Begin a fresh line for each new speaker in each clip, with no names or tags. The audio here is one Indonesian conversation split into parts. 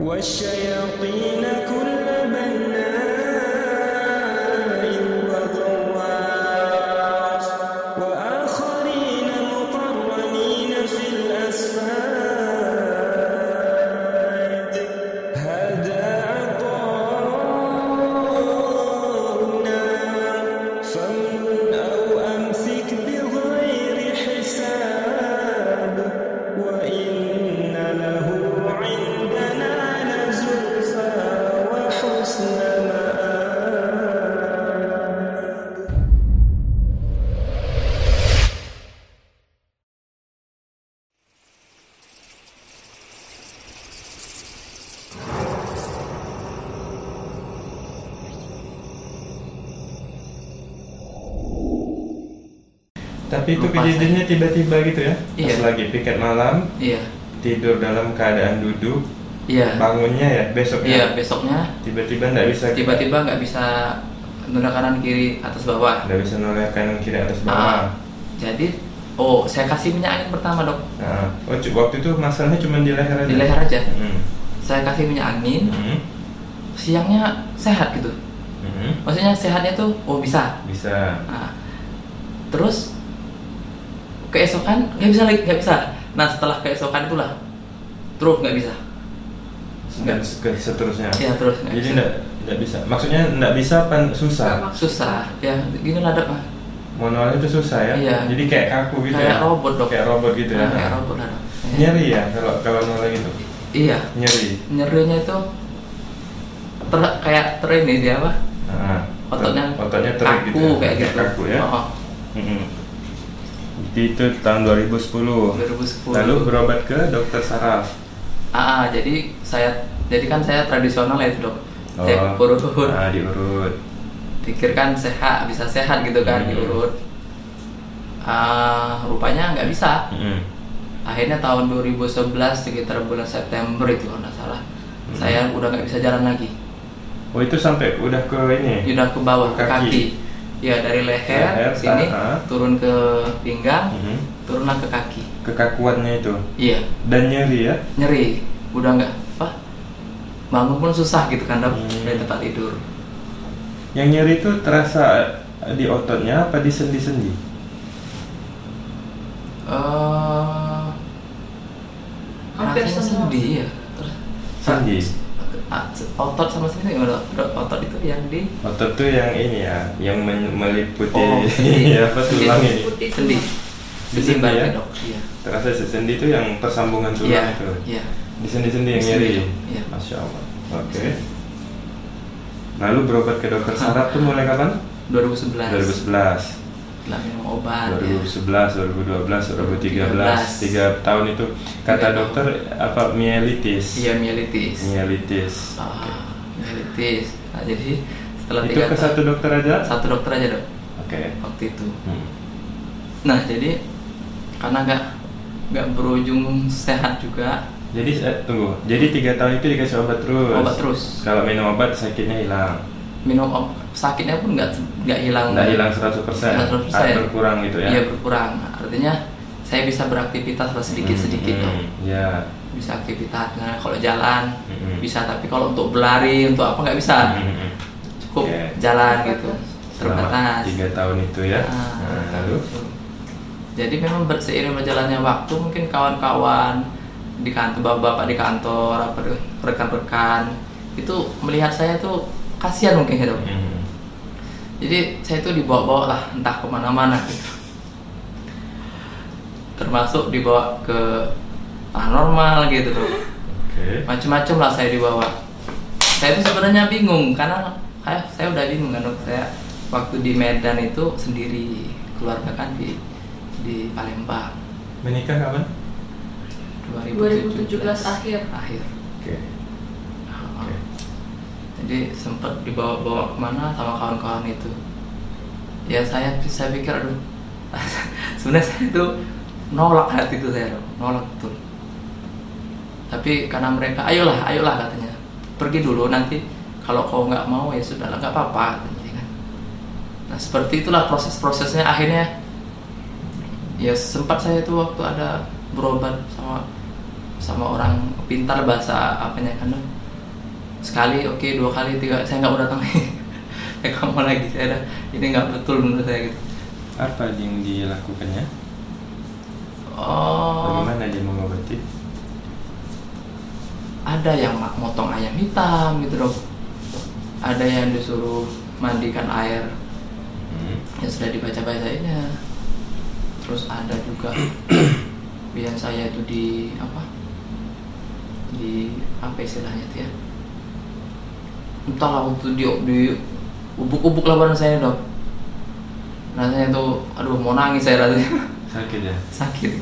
والشياطين كل بناء وغواص وآخرين مقرنين في الأصفاد هذا عطاؤنا فامنن أو أمسك بغير حساب وإن له عندنا لزلفى وحسن مآب.
Tapi itu
Lupa
kejadiannya tiba-tiba gitu ya?
Iya.
Pas lagi piket malam,
Iya,
tidur dalam keadaan duduk,
iya,
bangunnya ya besoknya
iya. Besoknya
tiba-tiba nggak bisa
tiba-tiba nggak bisa nunda kanan kiri atas bawah.
nggak bisa noleh kanan kiri atas
Ah,
bawah.
jadi, saya kasih minyak angin pertama dok,
Nah, waktu itu masalahnya cuma di leher aja.
di leher aja.
Hmm.
Saya kasih minyak angin,
Hmm.
siangnya sehat gitu.
Hmm.
Maksudnya sehatnya tuh, bisa.
Bisa.
Nah, terus keesokan nggak bisa lagi, nggak bisa. Nah setelah keesokan itulah terus nggak bisa.
Seterusnya.
Iya terus nggak
Jadi
bisa.
nggak bisa. Maksudnya nggak bisa susah.
Susah. Ya gini lah dok.
Manualnya itu susah ya.
Iya.
Jadi kayak kaku gitu
Kayak
ya.
robot dok.
Kayak robot gitu ya.
Nah, kayak robot lah dok.
Nyeri ya kalau noleh gitu.
Iya.
Nyeri.
Nyerinya itu kayak ini dia apa?
Nah,
Ototnya
terik
kaku
gitu ya.
kayak gitu.
Kaku ya.
Oh,
Mm-mm. Itu tahun 2010.
2010.
Lalu berobat ke dokter saraf.
Jadi kan saya tradisional ya itu dok. Saya urut.
Nah, diurut.
Pikir kan sehat, bisa sehat gitu kan, diurut. Rupanya nggak bisa. Akhirnya tahun 2011 sekitar bulan September itu kalau nggak salah, saya udah nggak bisa jalan lagi.
Oh, itu sampai udah ke ini.
Udah ke bawah ke
Kaki.
kaki. Ya dari leher sini turun ke pinggang, turunlah ke kaki.
Kekakuannya itu.
Iya.
Dan nyeri ya.
Nyeri. Udah nggak apa? Bangun pun susah gitu kan dok dari tempat tidur.
Yang nyeri itu terasa di ototnya apa di sendi-sendi?
Hampir
Rasanya
semua.
sendi ya.
Sendi.
Otot sama sendi nggak dok? Otot itu yang di
Otot tuh yang ini ya, yang meliputi
sendi.
apa tulang ini.
Putih
Sendi.
Di
Sendi
sendi
barat
ya?
dok. Iya.
Terasa sendi itu yang persambungan tulang
Iya.
itu.
Iya.
Di sendi-sendi yang
Di sendi,
nyeri.
iya.
Masya Allah. Oke. Lalu berobat ke dokter saraf tuh mulai kapan?
2011.
2011.
Setelah minum obat.
2011, 2012, 2013, 3 tahun itu kata
3
dokter apa mielitis.
Iya mielitis.
Mielitis.
Mielitis. Nah jadi setelah
Itu
3
ke satu dokter aja?
satu dokter aja dok
Oke.
waktu itu.
Hmm.
Nah jadi karena nggak berujung sehat juga.
Jadi tunggu. Jadi 3 tahun itu dikasih obat terus.
Obat terus.
Kalau minum obat sakitnya hilang.
Minum sakitnya pun nggak hilang.
Nggak hilang 100%.
100%.
Berkurang gitu ya.
Iya berkurang. Artinya saya bisa beraktivitas lah sedikit-sedikit dok.
Ya.
Bisa aktivitas. Nah kalau jalan
Hmm.
bisa, tapi kalau untuk berlari untuk apa nggak bisa. Cukup
Oke.
jalan gitu.
Selama
Terbatas.
3 tahun itu ya. Nah, lalu
Jadi memang seiring berjalannya waktu mungkin kawan-kawan di kantor, bapak-bapak di kantor, apa rekan-rekan itu melihat saya tuh kasihan mungkin ya dok. Jadi saya tuh dibawa-bawa lah entah kemana-mana gitu. Termasuk dibawa ke paranormal gitu dok.
Oke.
Macam-macam lah saya dibawa. Saya tuh sebenarnya bingung karena saya udah bingung kan dok. Saya waktu di Medan itu sendiri, keluarga kan di Palembang.
Menikah kapan?
2017 akhir.
Oke. Oke.
Jadi sempat dibawa-bawa kemana sama kawan-kawan itu. Ya saya pikir aduh sebenarnya saya itu nolak hati itu saya nolak betul. Tapi karena mereka ayolah katanya pergi dulu, nanti kalau kau nggak mau ya sudahlah nggak apa-apa katanya kan. Nah seperti itulah proses-prosesnya. Akhirnya ya sempat saya itu waktu ada berobat sama sama orang pintar bahasa apanya kan, sekali oke, 2 kali, 3 saya nggak mau datang lagi. Kamu lagi, saya ada ini nggak betul menurut saya gitu.
Apa yang dilakukannya?
Oh,
Bagaimana dia mengobati?
ada yang motong ayam hitam gitu dok, ada yang disuruh mandikan air yang sudah dibaca-bacainnya, terus ada juga biar saya itu di apa istilahnya itu ya, entahlah, waktu di ubuk-ubuk lah badan saya dok, rasanya tuh aduh mau nangis saya rasanya.
Sakit ya?
Sakit.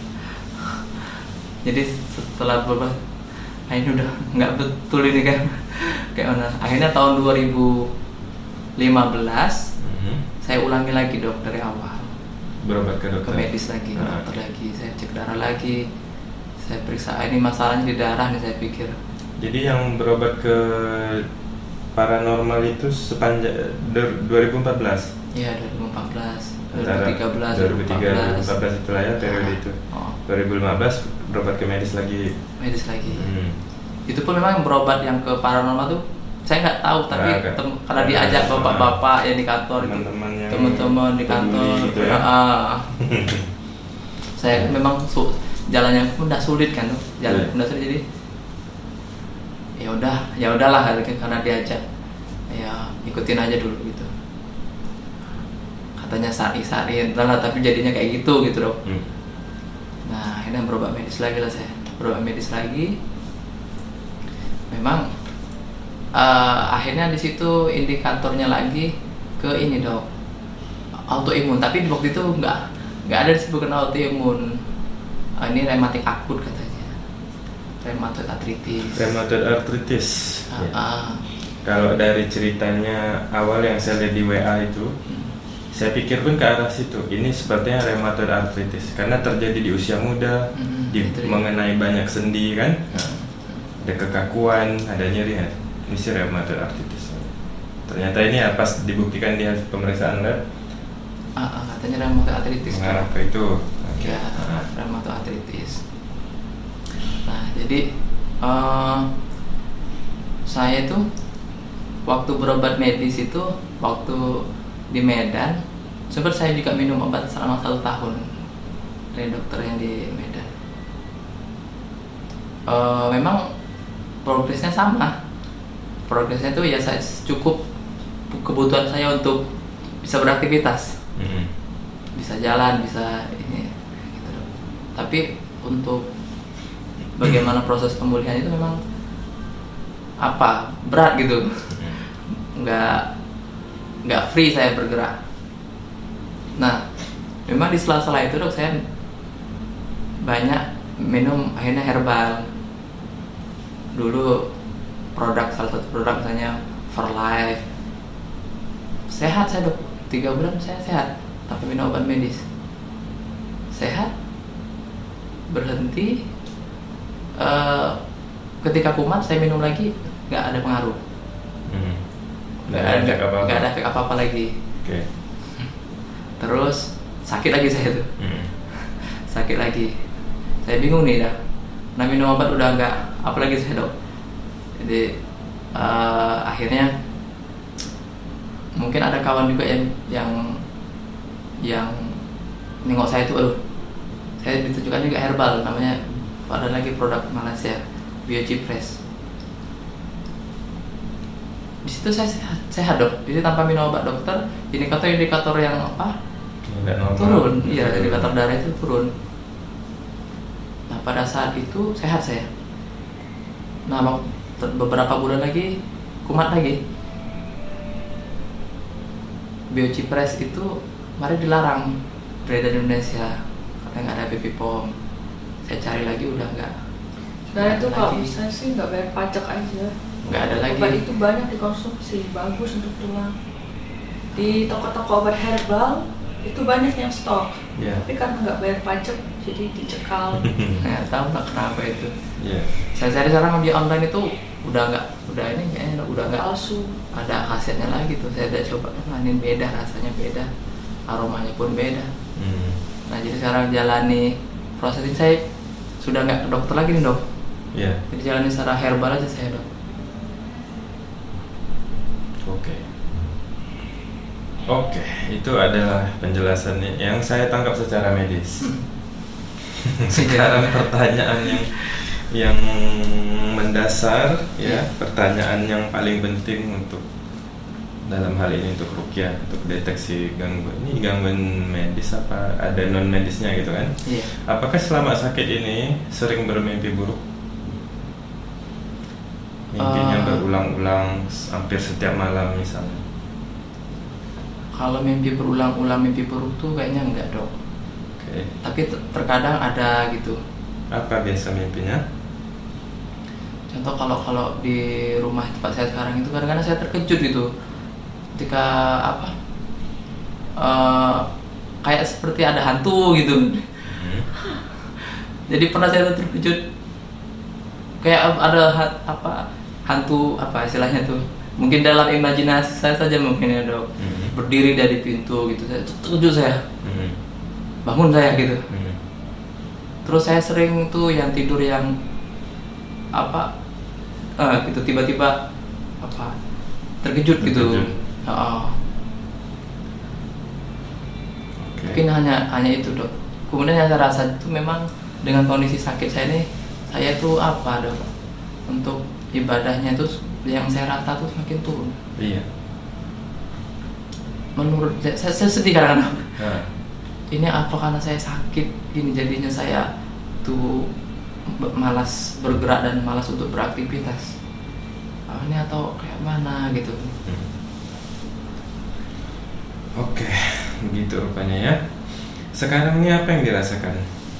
Jadi setelah beberapa ini udah nggak betul ini kan, kayak mana, akhirnya tahun 2015 saya ulangi lagi dok dari awal,
Berobat ke
ke
dokter?
medis lagi, ke dokter lagi, saya cek darah lagi, saya periksa ini masalahnya di darah nih saya pikir.
Jadi yang berobat ke paranormal itu sepanjang 2014?
Iya 2014,
Antara
2013,
2014 itulah ya periode itu.
Oh,
2015 berobat ke medis lagi.
medis lagi. Itu pun memang berobat yang ke paranormal tuh saya nggak tahu, tapi karena diajak bapak-bapak yang di kantor itu, teman-teman di kantor
gitu ya?
saya memang jalannya pun udah sulit kan tuh, jalan udah sulit, jadi ya udahlah karena diajak, ya ikutin aja dulu gitu, katanya sari entahlah, tapi jadinya kayak gitu dok. Nah akhirnya berobat medis lagi lah, saya berobat medis lagi, memang akhirnya di situ indikatornya lagi ke ini dok, autoimun, tapi waktu itu nggak ada disebutkan autoimun. Ini rematik akut katanya, rheumatoid arthritis.
Rheumatoid arthritis. Kalau dari ceritanya awal yang saya lihat di WA itu, saya pikir pun ke arah situ. Ini sepertinya rheumatoid arthritis karena terjadi di usia muda, mengenai banyak sendi kan, ada kekakuan, ada nyeri. Ini sih rheumatoid arthritis. Ternyata ini ya, pas dibuktikan di hasil pemeriksaan lab,
katanya rheumatoid arthritis.
mengarah ke itu.
Ya, rheumatoid arthritis. Nah, jadi saya tuh waktu berobat medis itu, waktu di Medan, sempat saya juga minum obat selama 1 tahun dari dokter yang di Medan. Memang progresnya sama. Progresnya tuh ya saya cukup kebutuhan saya untuk bisa beraktivitas, bisa jalan, bisa ini, gitu. Tapi untuk bagaimana proses pemulihan itu memang berat gitu, nggak free saya bergerak. Nah, memang di sela-sela itu dok saya banyak minum akhirnya herbal. Dulu salah satu produk misalnya Verlife, sehat saya dok, 3 bulan saya sehat tanpa minum obat medis, sehat, berhenti. Ketika kumat saya minum lagi, nggak ada pengaruh, nggak ada efek apa-apa lagi. Terus sakit lagi saya tuh, sakit lagi, saya bingung nih dah. Nah minum obat udah nggak, apalagi saya dok. Jadi akhirnya mungkin ada kawan juga yang nengok saya tuh, saya ditunjukkan juga herbal, namanya ada lagi produk Malaysia, Biochipres. Di situ saya sehat dok, jadi tanpa minum obat dokter, indikator yang turun, iya, indikator darah itu turun. Nah pada saat itu sehat saya. Nah beberapa bulan lagi kumat lagi. Biochipres itu mari dilarang beredar di Indonesia, katanya nggak ada baby pom. Saya cari lagi udah nggak.
Nah itu kalau bisa sih nggak bayar pajak aja.
Nggak ada lagi.
Obat itu banyak dikonsumsi, bagus untuk tulang. Di toko-toko obat herbal itu banyak yang stok, tapi karena nggak bayar pajak jadi dicekal.
Nggak tahu lah kenapa itu. Saya cari sekarang di online itu udah nggak
Palsu.
ada khasiatnya lagi tuh. Saya udah coba, ini beda, rasanya beda, aromanya pun beda. Nah jadi sekarang jalani proses ini, saya sudah nggak ke dokter lagi nih dok.
Iya.
Jadi jalani secara herbal aja saya dok.
Oke, itu adalah penjelasannya yang saya tangkap secara medis. Sekarang pertanyaan yang mendasar ya, pertanyaan yang paling penting untuk dalam hal ini untuk ruqyah, untuk deteksi gangguan. Ini gangguan medis apa ada non medisnya gitu kan?
Iya.
Apakah selama sakit ini sering bermimpi buruk? Mimpinya berulang-ulang hampir setiap malam misalnya.
Kalau mimpi berulang-ulang mimpi buruk tuh kayaknya enggak dok.
Oke.
Tapi terkadang ada gitu.
Apa biasa mimpinya?
Contoh kalau di rumah tempat saya sekarang itu kadang-kadang saya terkejut gitu. Ketika kayak seperti ada hantu gitu. Jadi pernah saya terkejut kayak ada hantu apa istilahnya tuh. Mungkin dalam imajinasi saya saja mungkin ya dok. Berdiri dari pintu gitu, saya terkejut saya. Bangun saya gitu. Terus saya sering tuh yang tidur yang gitu tiba-tiba terkejut gitu.
Okay.
Mungkin hanya itu dok. Kemudian yang saya rasa itu memang dengan kondisi sakit saya ini, saya tuh dok, untuk ibadahnya tuh yang saya rasa tuh semakin turun.
Iya.
Menurut saya sedih kadang-kadang. Ini apa karena saya sakit ini jadinya saya tuh malas bergerak dan malas untuk beraktivitas. Ini atau kayak mana gitu.
Oke, begitu rupanya ya. Sekarang ini apa yang dirasakan?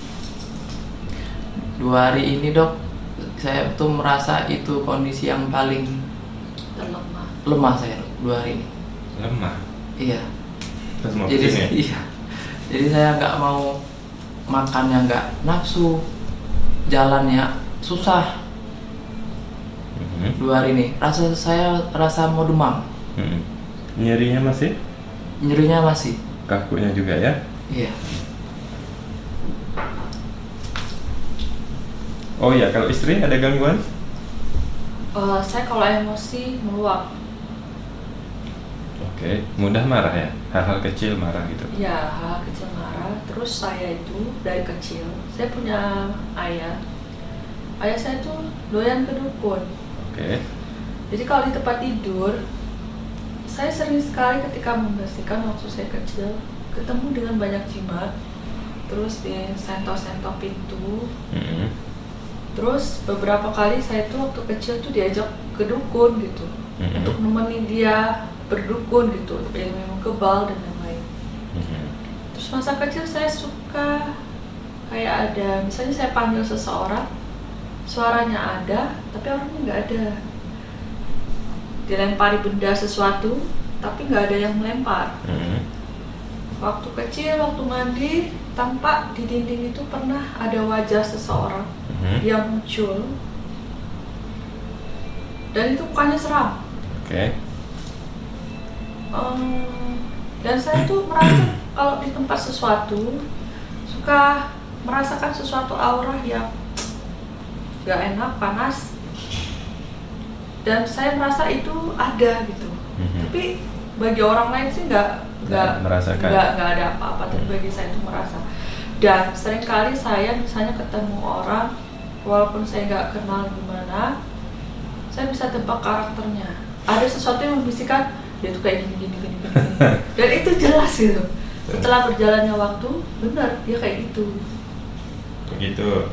2 hari ini dok, saya tuh merasa itu kondisi yang paling lemah saya dok, 2 hari ini.
Lemah?
Iya.
Terus mau
jadi
ya?
iya. Jadi saya nggak mau makannya nggak nafsu, jalannya susah. 2 hari ini saya rasa mau demam.
Nyerinya masih?
Nyerinya masih.
Kakunya juga ya?
Iya.
Oh iya, kalau istri ada gangguan?
Saya kalau emosi meluap.
Oke, mudah marah ya? Hal-hal kecil marah gitu?
Ya, hal kecil marah. Terus saya itu dari kecil, saya punya ayah. Ayah saya tuh doyan ke dukun.
Oke.
Jadi kalau di tempat tidur, saya sering sekali ketika membersihkan waktu saya kecil, ketemu dengan banyak jimat. Terus di sentok-sentok pintu. Terus beberapa kali saya tuh waktu kecil tuh diajak ke dukun gitu, untuk nemenin dia berdukun gitu, ilmu kebal dan lain-lain. Terus masa kecil saya suka kayak ada, misalnya saya panggil seseorang, suaranya ada, tapi orangnya nggak ada. Dilempari benda sesuatu, tapi nggak ada yang melempar. Waktu kecil, waktu mandi, tampak di dinding itu pernah ada wajah seseorang yang muncul, dan itu mukanya seram.
Oke.
Dan saya tuh merasa kalau di tempat sesuatu suka merasakan sesuatu aura yang gak enak, panas, dan saya merasa itu ada gitu. Tapi bagi orang lain sih nggak
merasakan,
nggak ada apa-apa, tapi bagi saya itu merasa. Dan seringkali saya misalnya ketemu orang, walaupun saya nggak kenal gimana, saya bisa tebak karakternya. Ada sesuatu yang membisikkan dia tuh kayak gini. Dan itu jelas gitu. Setelah berjalannya waktu, benar dia kayak gitu.
Begitu.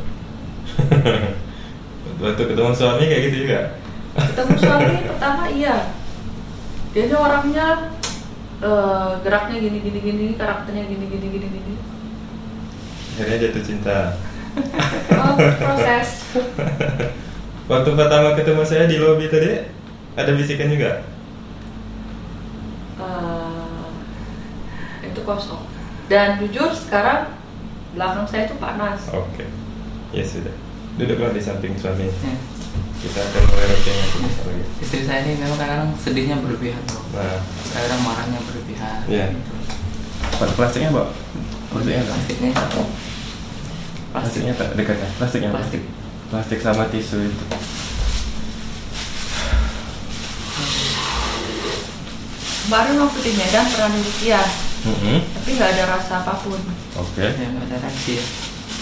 Waktu ketemu suami kayak gitu juga?
Ketemu suami pertama iya. Dia ini orangnya geraknya gini, karakternya gini.
Akhirnya jatuh cinta.
Oh, proses.
Waktu pertama ketemu saya di lobi tadi, ada bisikan juga?
Itu kosong. Dan jujur sekarang belakang saya itu panas.
Oke. Ya sudah. Duduklah di samping suami. Kita akan mulai rutinnya lagi.
Istri saya ini memang kadang sedihnya berlebihan bro.
Nah.
Kadang marahnya berlebihan.
Iya.
Gitu.
Pada plastiknya, Mbak? Plastiknya
Plastiknya.
Plastiknya tak dekatnya. Plastiknya.
Plastik.
Plastik sama tisu itu.
Kemarin waktu di Medan pernah demikian,
Mm-hmm.
tapi nggak ada rasa apapun.
Oke.
Ya nggak ada reaksi ya.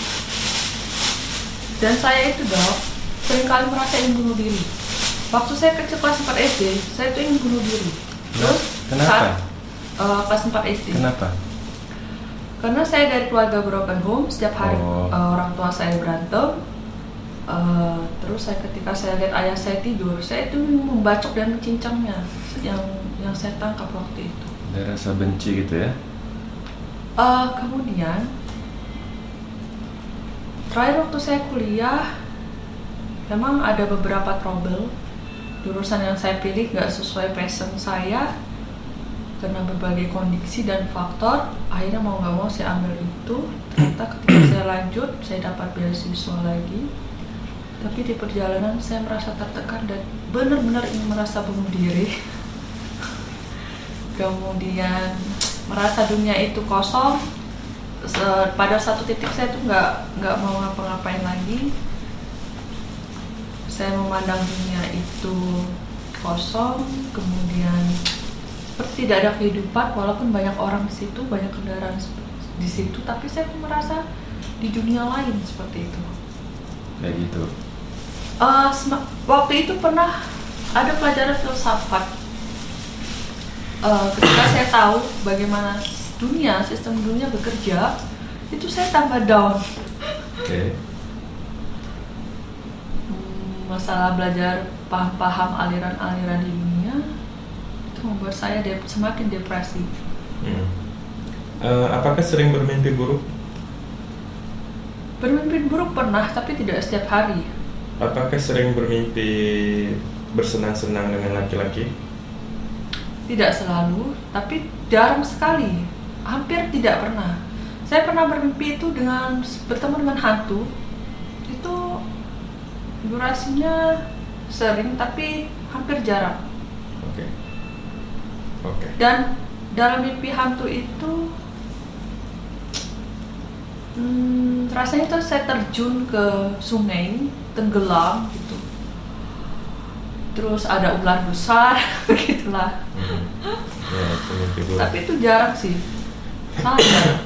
Dan saya itu dok, seringkali merasa ingin bunuh diri. Waktu saya kecil kelas 4 SD, saya tuh ingin bunuh diri. Terus
Kenapa?
Kelas 4 SD.
Kenapa?
Karena saya dari keluarga broken home, setiap hari orang tua saya berantem. Terus ketika saya lihat ayah saya tidur, saya itu membacok dan mencincangnya, yang saya tangkap waktu itu.
Ada rasa benci gitu ya?
Kemudian terakhir waktu saya kuliah, memang ada beberapa trouble. Jurusan yang saya pilih nggak sesuai passion saya karena berbagai kondisi dan faktor. Akhirnya mau nggak mau saya ambil itu. Ternyata ketika saya lanjut, saya dapat beasiswa lagi. Tapi di perjalanan saya merasa tertekan dan benar-benar ingin merasa bunuh diri. Kemudian merasa dunia itu kosong. Pada satu titik saya tuh nggak mau ngapa-ngapain lagi. Saya memandang dunia itu kosong, kemudian seperti tidak ada kehidupan, walaupun banyak orang di situ, banyak kendaraan di situ, tapi saya tuh merasa di dunia lain seperti itu.
Kayak gitu.
Waktu itu pernah ada pelajaran filsafat. Ketika saya tahu bagaimana sistem dunia bekerja, itu saya tambah down.
Oke.
Masalah belajar paham aliran-aliran di dunia itu membuat saya semakin depresi.
Apakah sering bermimpi buruk?
Bermimpi buruk pernah, tapi tidak setiap hari.
Apakah sering bermimpi bersenang-senang dengan laki-laki?
Tidak selalu, tapi jarang sekali. Hampir tidak pernah. Saya pernah bermimpi itu bertemu dengan hantu. Itu durasinya sering, tapi hampir jarang.
Oke.
Dan dalam mimpi hantu itu rasanya tuh saya terjun ke sungai, tenggelam gitu. Terus ada ular besar, begitulah.
Ya, itu mimpi buruk.
Tapi itu jarang sih, sangat jarang.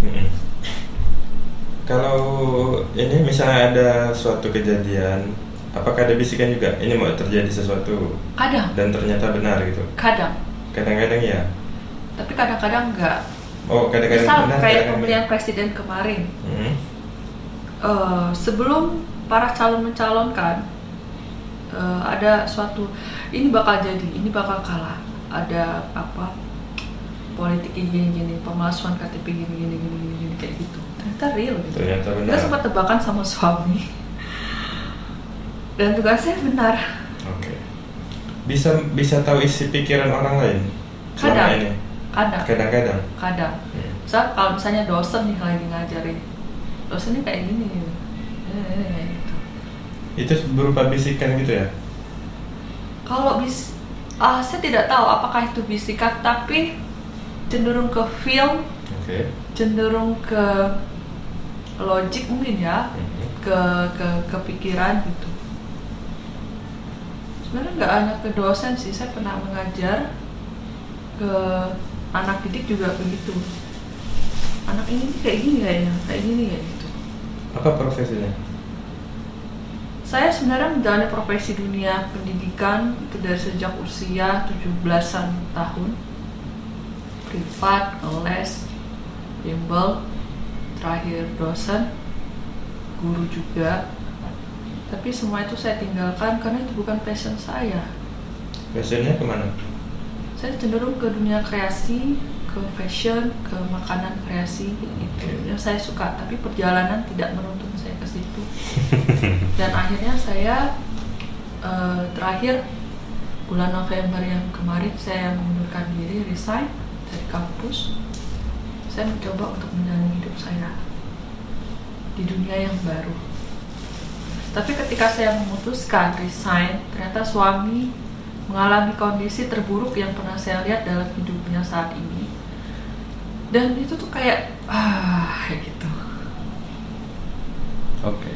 Kalau ini misalnya ada suatu kejadian, apakah ada bisikan juga? Ini mau terjadi sesuatu
Kadang,
dan ternyata benar gitu?
kadang.
Kadang-kadang ya?
Tapi kadang-kadang enggak.
Oh, kadang-kadang
Misal
benar,
kayak
kadang-kadang
pemilihan presiden kemarin.
Hmm.
Sebelum para calon mencalonkan, ada suatu ini bakal jadi, ini bakal kalah. Ada apa? Politik gini, pemalsuan KTP gini kayak gitu. Ternyata real gitu.
Ternyata benar.
Kita sempat tebakan sama suami. Dan tugasnya benar.
Oke. Bisa tahu isi pikiran orang lain? Selama
Kadang.
ini?
Kadang.
Kadang.
Misal kalau misalnya dosen nih lagi ngajarin, dosennya kayak gini gitu. Kayak gitu.
Itu berupa bisikan gitu ya?
Kalau saya tidak tahu apakah itu bisikan, tapi cenderung ke film,
Oke.
cenderung ke logik mungkin ya, ke pikiran gitu. Sebenarnya nggak hanya ke dosen sih, saya pernah mengajar ke anak didik juga begitu. Anak ini kayak gini kayaknya, kayak gini kayak gitu.
Apa profesinya?
Saya sebenarnya menjalani profesi dunia pendidikan itu dari sejak usia 17-an tahun. Privat, les, bimbel, terakhir dosen, guru juga. Tapi semua itu saya tinggalkan karena itu bukan passion saya.
Passionnya kemana?
Saya cenderung ke dunia kreasi, ke fashion, ke makanan kreasi itu yang saya suka. Tapi perjalanan tidak menuntun saya ke situ. Dan akhirnya saya terakhir bulan November yang kemarin saya mengundurkan diri, resign dari kampus. Saya mencoba untuk menjalani hidup saya di dunia yang baru. Tapi ketika saya memutuskan resign, ternyata suami mengalami kondisi terburuk yang pernah saya lihat dalam hidupnya saat ini. Dan itu tuh kayak kayak gitu.
Oke.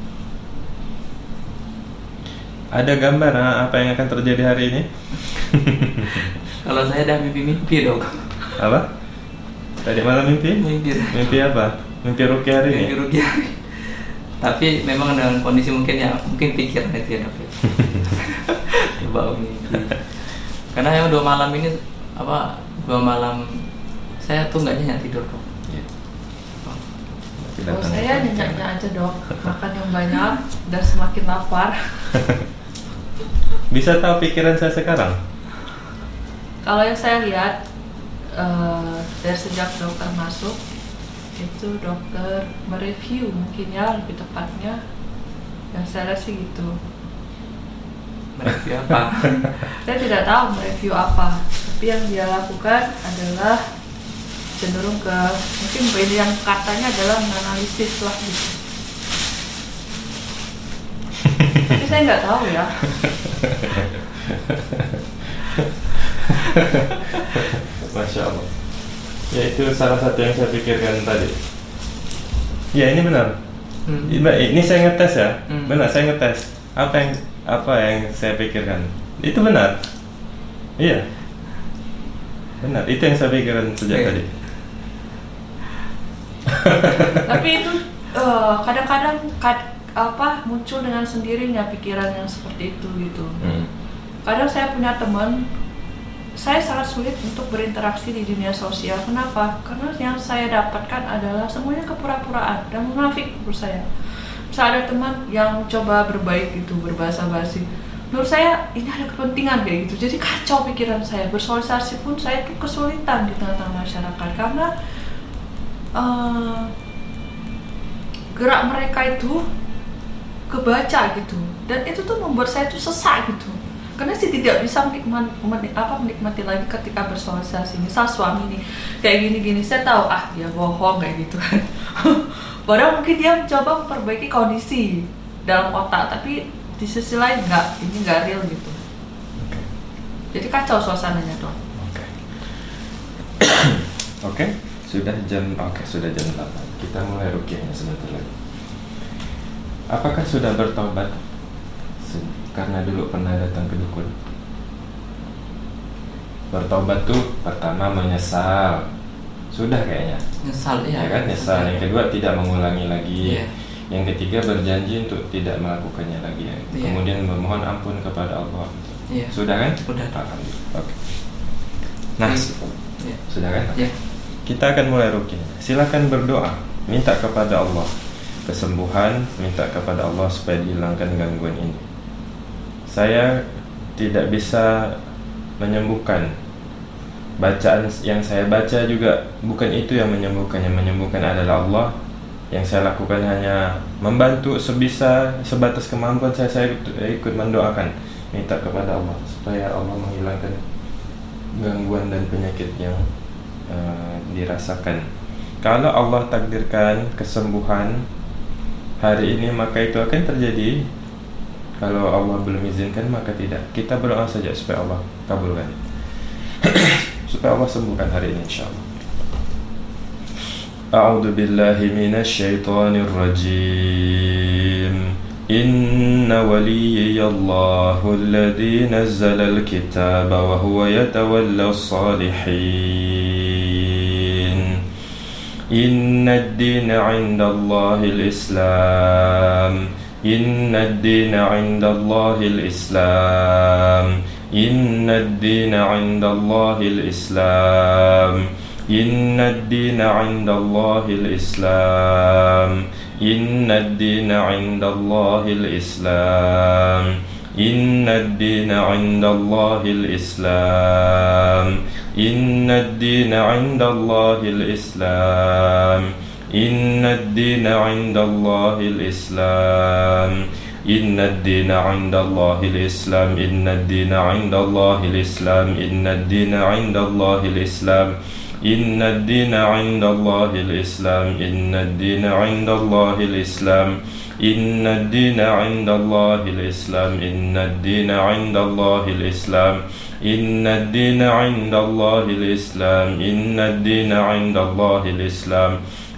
Ada gambar apa yang akan terjadi hari ini?
Kalau saya ada mimpi-mimpi dong.
Apa? Tadi malam mimpi? Mimpi apa? Mimpi rukyah hari ini?
Mimpi rukyah. Tapi memang dengan kondisi mungkin pikiran itu ya dok. Coba mimpi. Karena yang 2 malam ini 2 malam saya tuh nggak nyenyak tidur dok.
Saya nyenyak aja dok, makan yang banyak dan semakin lapar.
Bisa tahu pikiran saya sekarang?
Kalau yang saya lihat dari sejak dokter masuk itu dokter mereview mungkin ya lebih tepatnya, yang saya lihat sih gitu.
Mereview apa?
Saya tidak tahu mereview apa, tapi yang dia lakukan adalah cenderung ke mungkin yang katanya adalah menganalisis lah gitu. Tapi saya nggak tahu ya.
Masya Allah. Ya itu salah satu yang saya pikirkan tadi. Ya ini benar. Ini saya ngetes ya. Benar, saya ngetes. Apa yang saya pikirkan. Itu benar. Iya. Benar. Itu yang saya pikirkan sejak tadi.
Tapi itu kadang-kadang muncul dengan sendirinya pikiran yang seperti itu gitu. Kadang saya punya teman, saya sangat sulit untuk berinteraksi di dunia sosial. Kenapa? Karena yang saya dapatkan adalah semuanya kepura-puraan dan munafik menurut saya. Bisa ada teman yang coba berbaik gitu, berbahasa basi. Menurut saya ini ada kepentingan kayak gitu. Jadi kacau pikiran saya. Bersosialisasi pun saya tuh kesulitan di tengah-tengah masyarakat karena gerak mereka itu kebaca gitu. Dan itu tuh membuat saya tuh sesak gitu. Karena sih tidak bisa menikmati lagi ketika bersosialisasi. Misal suami nih kayak gini-gini, saya tahu dia bohong kayak gitu kan. Padahal mungkin dia mencoba memperbaiki kondisi dalam otak, tapi di sisi lain ini nggak real gitu. Jadi kacau suasananya dong.
Oke. Sudah jam 8. Kita mulai rukyahnya sebentar lagi. Apakah sudah bertobat? Karena dulu pernah datang ke dukun. Bertobat tuh pertama menyesal. Sudah kayaknya.
Nyesal ya.
Ya kan, nyesal. Yang kedua tidak mengulangi lagi.
Yeah.
Yang ketiga berjanji untuk tidak melakukannya lagi.
Yeah.
Kemudian memohon ampun kepada Allah.
Yeah.
Sudah kan?
Sudah.
Alhamdulillah. Oke. Nah, sudah kan?
Yeah.
Kita akan mulai rukyah. Silakan berdoa, minta kepada Allah kesembuhan, minta kepada Allah supaya dihilangkan gangguan ini. Saya tidak bisa menyembuhkan. Bacaan yang saya baca juga bukan itu yang menyembuhkan. Yang menyembuhkan adalah Allah. Yang saya lakukan hanya membantu sebatas kemampuan saya ikut mendoakan, minta kepada Allah supaya Allah menghilangkan gangguan dan penyakit yang dirasakan. Kalau Allah takdirkan kesembuhan hari ini, maka itu akan terjadi. Kalau Allah belum izinkan, maka tidak. Kita berdoa saja supaya Allah kabulkan, supaya Allah sembuhkan hari ini insyaallah. A'udzu billahi minasy syaithanir rajim. Inna waliyallahu alladzi nazzala al-kitaba wa huwa yatawalla as-salihin. Inna ad-dina 'inda Allahil Islam. Inna ad-dina 'inda Allahil Islam. Inna ad-dina 'inda Allahil Islam. Inna ad-dina 'inda Allahil Islam. Inna ad-dina 'inda Allahil Islam. Inna ad-dina 'inda Allahil Islam. Inna ad-dina 'inda Allahil Islam. Inna ad-dina 'inda Allahil Islam. Inna ad-dina 'inda Allahil Islam. Inna ad-dina 'inda Allahil Islam. Inna ad-dina 'inda Allahil Islam. Inna ad-dina 'inda Allahil Islam. Inna ad-dina 'inda Allahil Islam. Inna ad-dina 'inda Allahil Islam. Inna ad-dina 'inda Allahil Islam. Inna ad-dina 'inda Allahil Islam. Inna ad-dina 'inda Allahil Islam.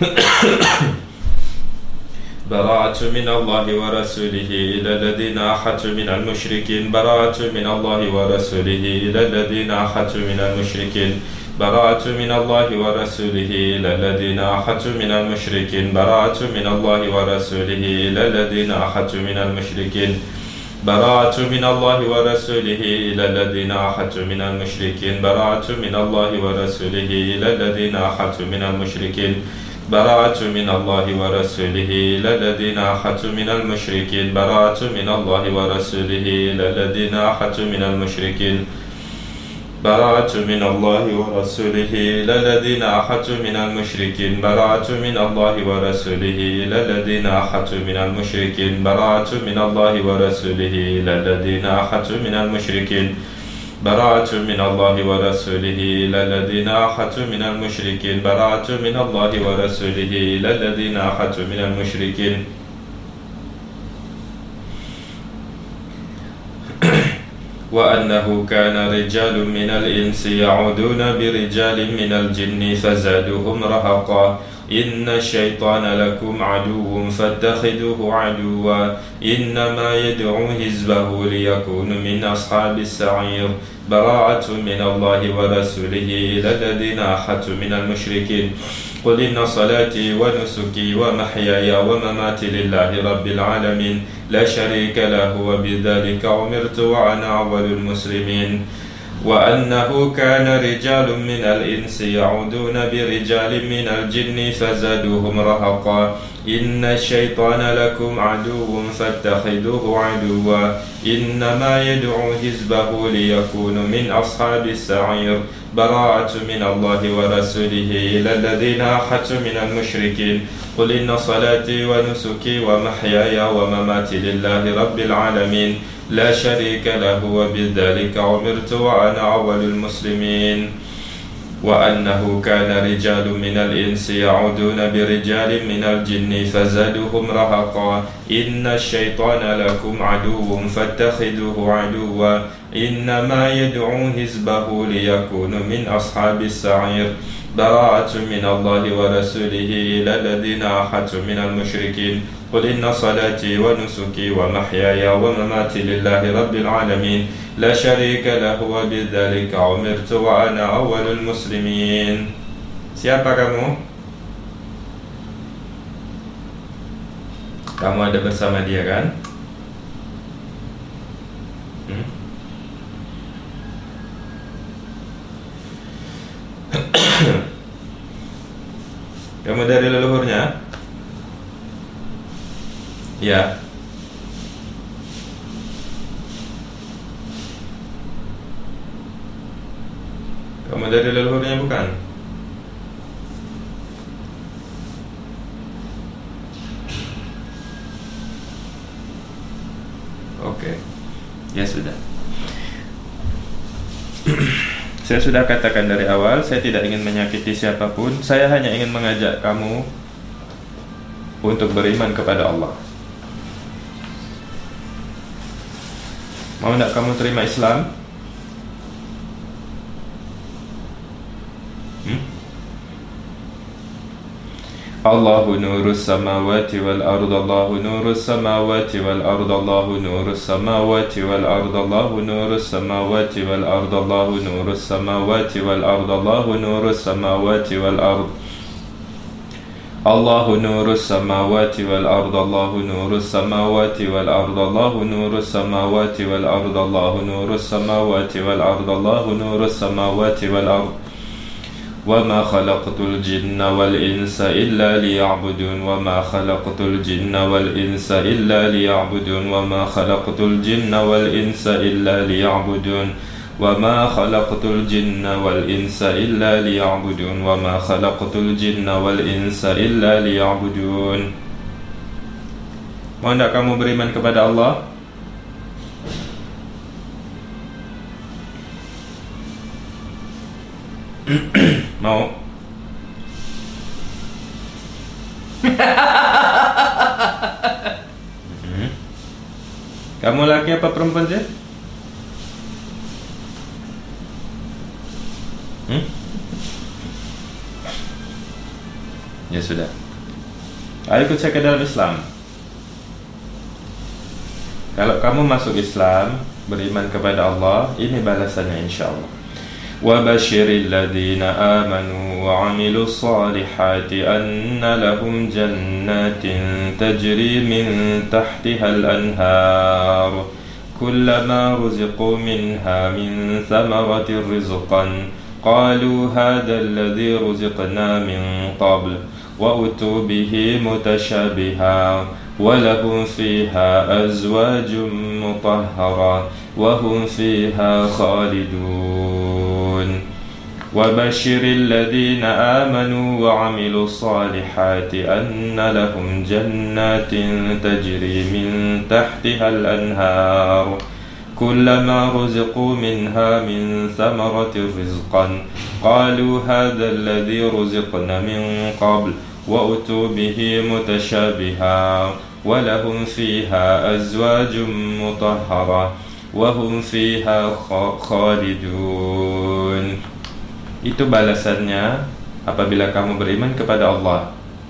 براءة من الله ورسوله إلى الذين آحدوا من المشركين براءة من الله ورسوله إلى الذين آحدوا من المشركين براءة من الله ورسوله إلى الذين آحدوا من المشركين براءة من الله ورسوله إلى الذين آحدوا من المشركين براءة من الله ورسوله إلى الذين آحدوا من المشركين براءة من الله ورسوله إلى الذين آحدوا من المشركين براءة من الله ورسوله إلى الذين آحدوا من المشركين براءة من الله ورسوله إلى الذين آحدوا من المشركين براءة من الله ورسوله إلى الذين آحدوا من المشركين براءة من الله ورسوله إلى الذين آحدوا من المشركين براءة من الله ورسوله إلى الذين آحدوا من المشركين براءة من الله ورسوله إلى الذين آحدوا من المشركين براءة من الله ورسوله إلى الذين آحدوا من المشركين وأنه كان رجال من الإنس يعودون برجال من الجن فزادوهم رهقا إن الشيطان لكم عدو فاتخذوه عدوا إنما يدعو حزبه ليكونوا من أصحاب السعير براءة من الله ورسوله إلى الذين آحدوا من المشركين قل إن صلاتي ونسكي ومحياي ومماتي لله رب العالمين لا شريك له وبذلك أمرت وأنا أول المسلمين وأنه كان رجال من الإنس يعودون برجال من الجن فزادوهم رهقا إن الشيطان لكم عدو فاتخذوه عدوا إنما يدعو حزبه ليكونوا من أصحاب السعير براءة من الله ورسوله إلى الذين آحدوا من المشركين قل إن صلاتي ونسكي ومحياي ومماتي لله رب العالمين لا شريك له وبذلك أمرت وأنا أول المسلمين وأنه كان رجال من الإنس يعودون برجال من الجن فزادوهم رهقا إن الشيطان لكم عدو فاتخذوه عدوا إنما يدعو حزبه ليكونوا من أصحاب السعير براءة من الله ورسوله إلى الذين آحدوا من المشركين قل إن صلاتي ونسكي ومحياي ومماتي لله رب العالمين لا شريك له وبذلك أمرت وأنا أول المسلمين. Siapa kamu? Kamu ada bersama dia kan? Kamu dari leluhurnya? Ya. Kamu dari leluhurnya bukan? Oke. Ya sudah. Saya sudah katakan dari awal, saya tidak ingin menyakiti siapapun. Saya hanya ingin mengajak kamu untuk beriman kepada Allah. Mau tidak kamu terima Islam? Allahu nurus samawati wal ard Allahu nurus samawati wal ard Allahu nurus samawati wal ard Allahu nurus samawati wal ard Allahu nurus samawati wal ard Allahu nurus samawati wal ard Allahu nurus samawati wal ard Allahu nurus samawati wal ard Allahu nurus samawati wal ard Allahu nurus samawati wal ard Allahu nurus samawati wal ard وما خلقت الجن والإنس إلا ليعبدون وما خلقت الجن والإنس إلا ليعبدون وما خلقت الجن والإنس إلا ليعبدون وما خلقت الجن والإنس إلا ليعبدون وما خلقت الجن والإنس إلا ليعبدون. Mau tidak kamu beriman kepada Allah? Mau? Kamu laki apa perempuan sih? Ya sudah. Ayo ikut saya ke dalam Islam. Kalau kamu masuk Islam, beriman kepada Allah, ini balasannya insyaallah. Wa basyiril ladzina amanu wa 'amilus solihati anna lahum jannatin tajri min tahtihal anhar kullama ruziqu minha min thamaratir rizqan qalu hadzal ladzi ruziqna min qabl وأتوا به متشابها ولهم فيها أزواج مطهرة وهم فيها خالدون وبشر الذين آمنوا وعملوا الصالحات أن لهم جنات تجري من تحتها الأنهار كلما رزقوا منها من ثمرة رزقا قالوا هذا الذي رزقنا من قبل وأتوا به متشابها ولهم فيها أزواج مطهرة وهم فيها خالدون. Itu balasannya apabila kamu beriman kepada Allah.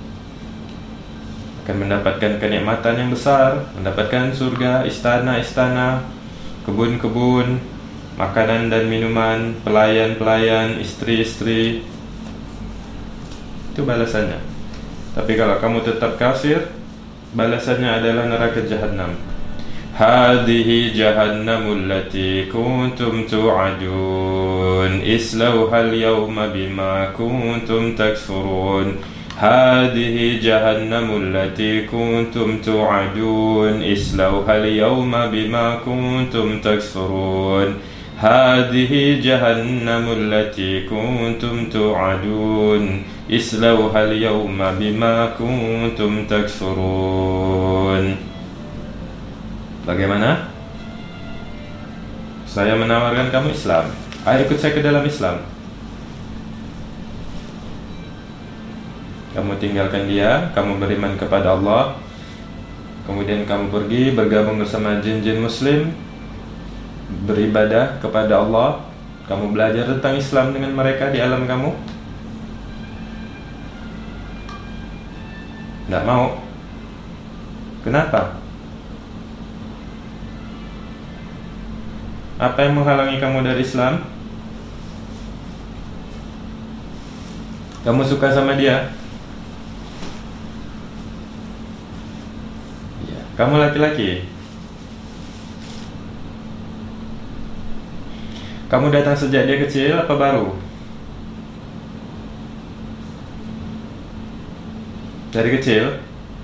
Akan mendapatkan kenikmatan yang besar, mendapatkan surga, istana-istana, kebun-kebun, makanan dan minuman, pelayan-pelayan, istri-istri. Itu balasannya. Tapi kalau kamu tetap kafir, balasannya adalah neraka Jahannam. Hadhihi jahannamul lati kuntum tu'adun islauhal yawma bima kuntum takfurun. Hadhihi jahannamul lati kuntum tu'adun islauhal yawma bima kuntum takfurun. Hadhihi jahannamul lati kuntum tu'adun islauhal yawma bima kuntum takfurun. Bagaimana? Saya menawarkan kamu Islam. Ayo ikut saya ke dalam Islam. Kamu tinggalkan dia, kamu beriman kepada Allah, kemudian kamu pergi bergabung bersama jin-jin muslim, beribadah kepada Allah. Kamu belajar tentang Islam dengan mereka di alam kamu. Tidak mau. Kenapa? Apa yang menghalangi kamu dari Islam? Kamu suka sama dia? Ya. Kamu laki-laki. Kamu datang sejak dia kecil apa baru? Dari kecil?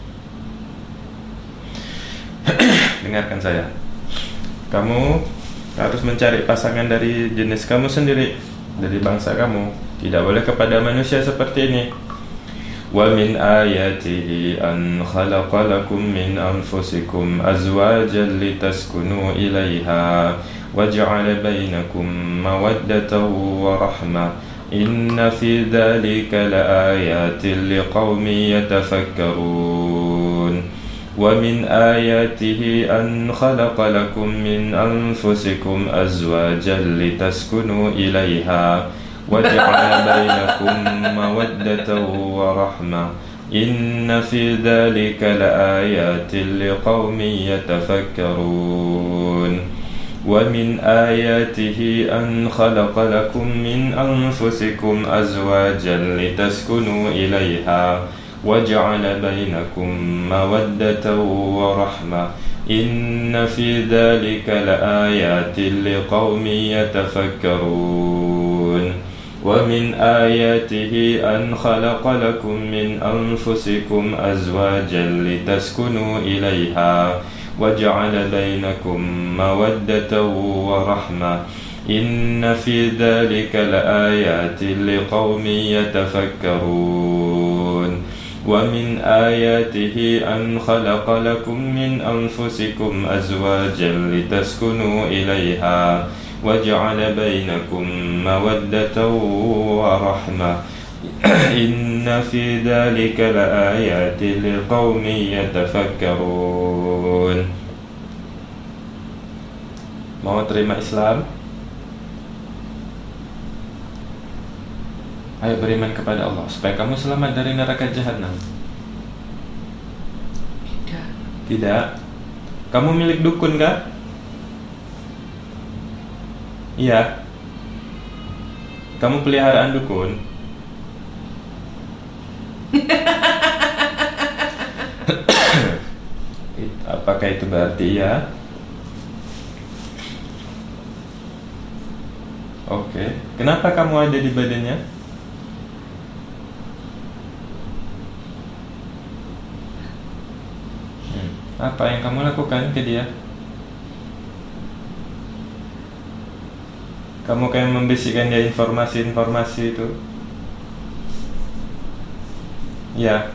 Dengarkan saya. Kamu harus mencari pasangan dari jenis kamu sendiri, dari bangsa kamu. Tidak boleh kepada manusia seperti ini. Wa min ayatihi an khalaqa lakum min anfusikum azwajan litaskunu ilaiha wa ja'ala bainakum mawaddatan wa rahmah. Inna fi dhalika laayatin liqaumin yatafakkarun. ومن آياته أن خلق لكم من أنفسكم أزواجا لتسكنوا إليها وجعل بينكم مودة ورحمة إن في ذلك لآيات لقوم يتفكرون ومن آياته أن خلق لكم من أنفسكم أزواجا لتسكنوا إليها وجعل بينكم مودة ورحمة إن في ذلك لآيات لقوم يتفكرون ومن آياته أن خلق لكم من أنفسكم أزواجا لتسكنوا إليها وجعل بينكم مودة ورحمة إن في ذلك لآيات لقوم يتفكرون ومن آياته أن خلق لكم من أنفسكم أزواجا لتسكنوا إليها وجعل بينكم مودة ورحمة إن في ذلك لآيات لقوم يتفكرون. Mau terima Islam? Ayo beriman kepada Allah supaya kamu selamat dari neraka jahanam. Tidak. Kamu milik dukun kah? Iya. Kamu peliharaan dukun? Apakah itu berarti iya? Oke. Kenapa kamu ada di badannya? Apa yang kamu lakukan ke dia? Kamu kayak membisikkan dia informasi-informasi itu. Ya.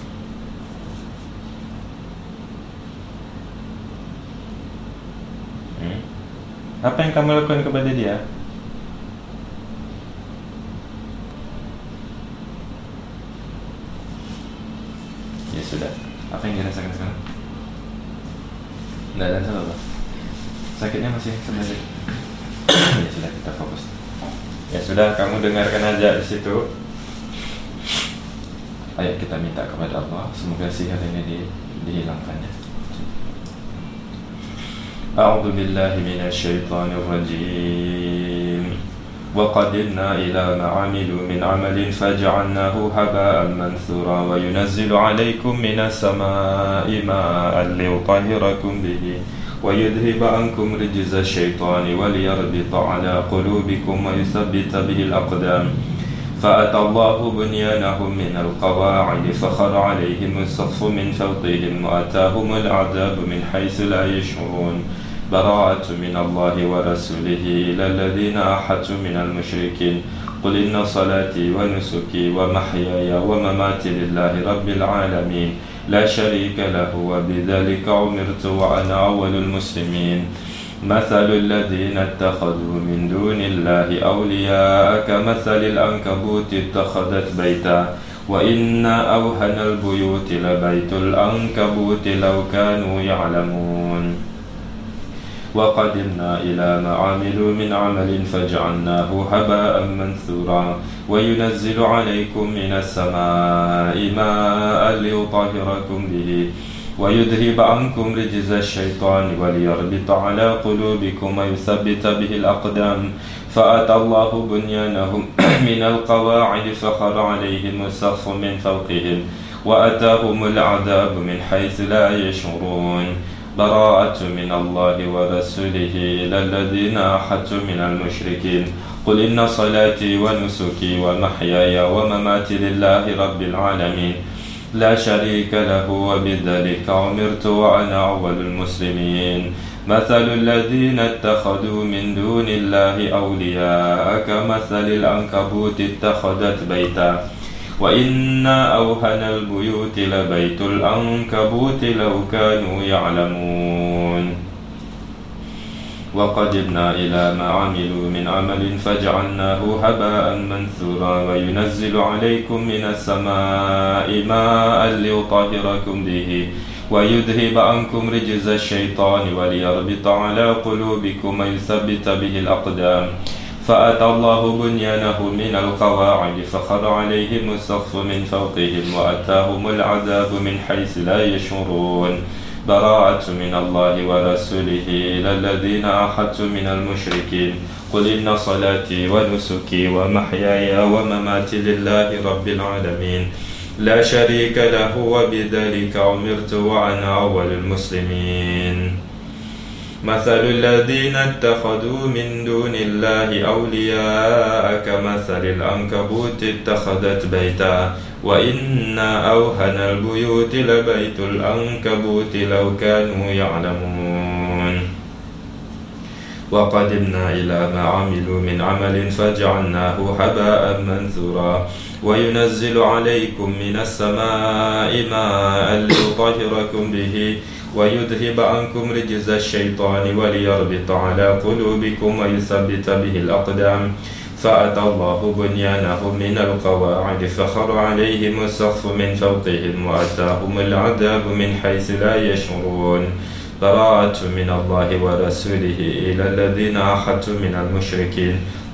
Apa yang kamu lakukan kepada dia? Ya sudah. Apa yang dirasakan sekarang? Nggak ada apa? Sakitnya masih sebenarnya. Ya sudah, kita fokus. Ya sudah, kamu dengarkan aja di situ. Ayo kita minta kepada Allah, semoga sihir ini dihilangkannya. A'udzu billahi minasy syaithanir rajim. Wa qadimna ila ma 'amilu min 'amalin faj'alnahu haba'an manthura wa yunazzilu 'alaykum minas samaa'i ma'an liyutahhirakum bihi wa yudhhiba 'ankum rijza asy-syaitani wa liyarbita 'ala qulubikum wa yuthabbita bihi al-aqdam. فأتى الله بنيانهم من القواعد فخر عليهم السقف من فوقهم وأتاهم العذاب من حيث لا يشعرون براءة من الله ورسوله إلى الذين أحدوا من المشركين قل إن صلاتي ونسكي ومحياي ومماتي لله رب العالمين لا شريك له وبذلك أمرت وأنا أول المسلمين مثل الذين اتخذوا من دون الله أولياء كمثل العنكبوت اتخذت بيتا وإن أوهن البيوت لبيت العنكبوت لو كانوا يعلمون وقدمنا إلى ما عملوا من عمل فجعلناه هباء منثورا وينزل عليكم من السماء ماء ليطهركم به ويذهب عنكم رجز الشيطان وليربط على قلوبكم ويثبت به الأقدام فأتى الله بنيانهم من القواعد فخر عليهم السقف من فوقهم وأتاهم العذاب من حيث لا يشعرون براءة من الله ورسوله إلى الذين أحدوا من المشركين قل إن صلاتي ونسكي ومحياي ومماتي لله رب العالمين لا شريك له وبذلك أمرت وأنا أول المسلمين مثل الذين اتخذوا من دون الله أولياء كمثل العنكبوت اتخذت بيتا وإن أوهن البيوت لبيت العنكبوت لو كانوا يعلمون وقدمنا إلى ما عملوا من عمل فجعلناه هباء منثورا وينزل عليكم من السماء ماء ليطهركم به ويذهب عنكم رجز الشيطان وليربط على قلوبكم ويثبت به الأقدام فأتى الله بنيانهم من القواعد فخر عليهم السقف من فوقهم وأتاهم العذاب من حيث لا يشعرون براءة من الله ورسوله إلى الذين أحدوا من المشركين قل إن صلاتي ونسكي ومحياي ومماتي لله رب العالمين لا شريك له وبذلك أمرت وأنا أول المسلمين مثل الذين اتخذوا من دون الله أولياء كمثل العنكبوت اتخذت بيتا وإن أوهن البيوت لبيت العنكبوت لو كانوا يعلمون وقدمنا إلى ما عملوا من عمل فجعلناه هباء منثورا وينزل عليكم من السماء ماء ليطهركم به ويذهب عنكم رجز الشيطان وليربط على قلوبكم ويثبت به الأقدام فأتى الله بنيانهم من القواعد فخر عليهم السقف من فوقهم وأتاهم العذاب من حيث لا يشعرون براءة من الله ورسوله إلى الذين أحدوا من المشركين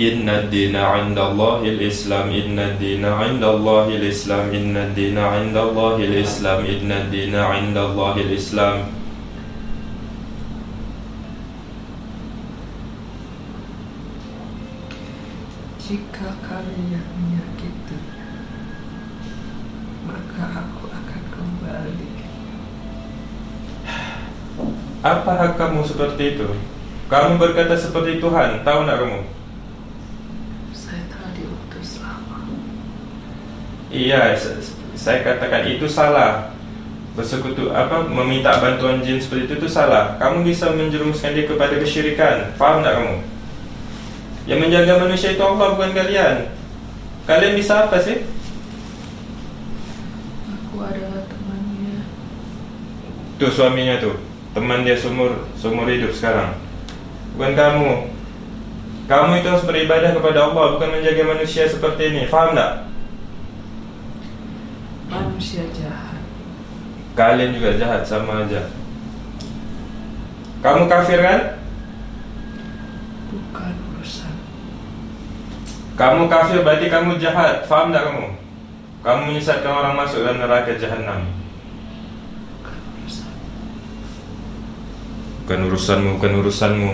Inna dina indallahil Islam, inna dina indallahil Islam, inna dina indallahil Islam, inna dina indallahil Islam.
Jika kalian menyakiti, maka aku akan kembali.
Apa hak kamu seperti itu? Kamu berkata seperti Tuhan, tahu nak kamu?
Saya telah diutus lama.
Iya, saya katakan itu salah. Bersekutu meminta bantuan jin seperti itu salah. Kamu bisa menjerumuskan dia kepada kesyirikan. Faham tak kamu? Yang menjaga manusia itu Allah, bukan kalian. Kalian bisa apa sih?
Aku adalah temannya.
Tuh suaminya tuh, teman dia seumur hidup sekarang. Bukan kamu. Kamu itu harus beribadah kepada Allah, bukan menjaga manusia seperti ini. Faham tak?
Manusia jahat.
Kalian juga jahat, sama aja. Kamu kafir kan?
Bukan urusan.
Kamu kafir berarti kamu jahat. Faham tak kamu? Kamu menyesatkan orang masuk dalam neraka jahanam.
Bukan urusan.
Bukan urusanmu.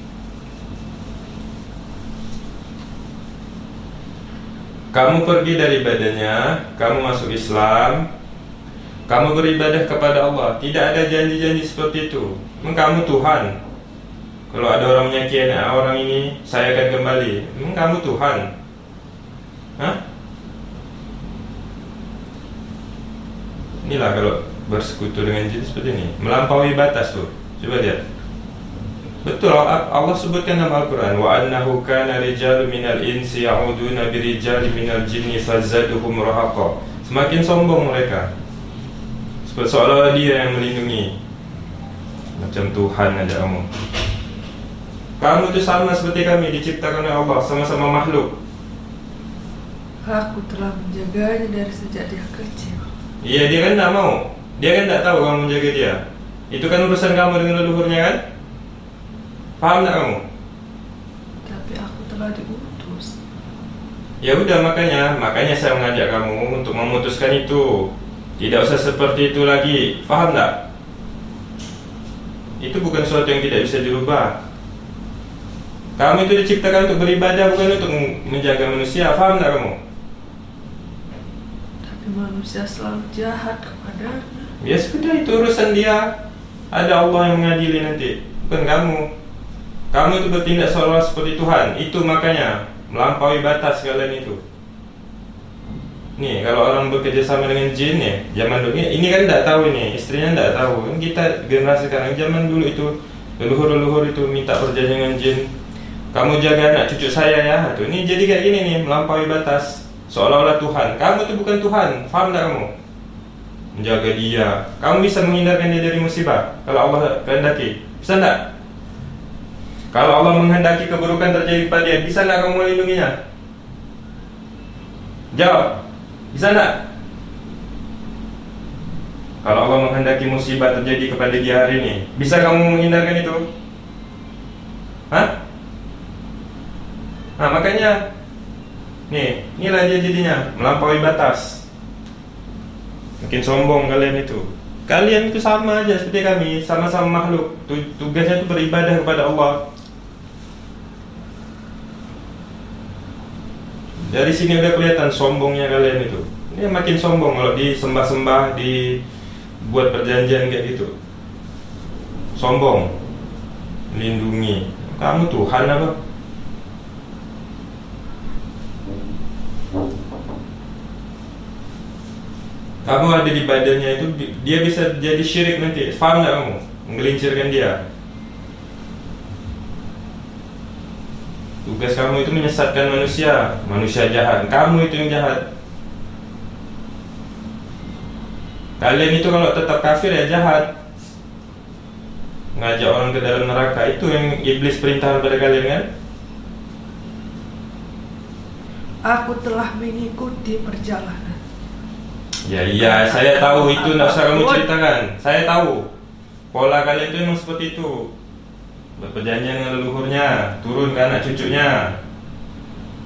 Kamu pergi dari badannya, kamu masuk Islam, kamu beribadah kepada Allah. Tidak ada janji-janji seperti itu. Kamu Tuhan. Kalau ada orang menyakiti orang ini, saya akan kembali. Kamu Tuhan. Hah? Inilah kalau bersekutu dengan jin seperti ini, melampaui batas tuh. Coba lihat. Betul, Allah sebutkan dalam Al-Quran, wa annahu kana rijalun minal insi ya'uduna birijali minal jinni fazaduhum rahaqa. Semakin sombong mereka, seolah-olah dia yang melindungi. Macam Tuhan aja kamu. Kamu itu sama seperti kami, diciptakan oleh Allah, sama-sama makhluk.
Aku telah menjaganya dari sejak dia kecil.
Iya, dia kan tak mau. Dia kan tak tahu kamu menjaga dia. Itu kan urusan kamu dengan leluhurnya kan? Paham tak kamu?
Tapi aku telah diutus.
Ya udah, makanya saya mengajak kamu untuk memutuskan itu. Tidak usah seperti itu lagi. Paham tak? Itu bukan sesuatu yang tidak bisa dirubah. Kamu itu diciptakan untuk beribadah, bukan untuk menjaga manusia. Paham tak kamu?
Tapi manusia selalu jahat kepadanya.
Ya sudah, itu urusan dia. Ada Allah yang mengadili nanti, bukan kamu. Kamu itu bertindak seolah seperti Tuhan. Itu makanya melampaui batas kalian itu. Nih, kalau orang bekerja sama dengan jin ya, zaman dulu ini kan tidak tahu ini, istrinya tidak tahu. Kita generasi sekarang, zaman dulu itu leluhur itu minta perjanjian dengan jin. Kamu jaga anak cucu saya ya. Tuh, ini jadi kayak gini nih, melampaui batas. Seolah-olah Tuhan. Kamu itu bukan Tuhan. Faham tak kamu? Menjaga dia. Kamu bisa menghindarkan dia dari musibah kalau Allah kehendaki. Bisa tak? Kalau Allah menghendaki keburukan terjadi pada dia, bisa tak kamu melindunginya? Jawab. Bisa tak? Kalau Allah menghendaki musibah terjadi kepada dia hari ini, bisa kamu menghindarkan itu? Hah? Nah makanya nih, inilah dia jadinya melampaui batas. Makin sombong kalian itu. Kalian itu sama aja seperti kami, sama-sama makhluk. Tugasnya itu beribadah kepada Allah. Dari sini udah kelihatan sombongnya kalian itu. Ini makin sombong kalau disembah-sembah, dibuat perjanjian kayak gitu. Sombong, melindungi. Kamu Tuhan apa? Kamu ada di badannya itu, dia bisa jadi syirik nanti. Faham gak kamu? Menggelincirkan dia. Tugas kamu itu menyesatkan manusia. Manusia jahat. Kamu itu yang jahat. Kalian itu kalau tetap kafir ya jahat. Ngajak orang ke dalam neraka. Itu yang iblis perintahkan pada kalian kan?
Aku telah mengikuti perjalanan.
Ya iya, saya tahu itu, tidak usah kamu ceritakan. Saya tahu pola kalian itu memang seperti itu. Berperjanjian dengan leluhurnya, turun ke anak cucunya.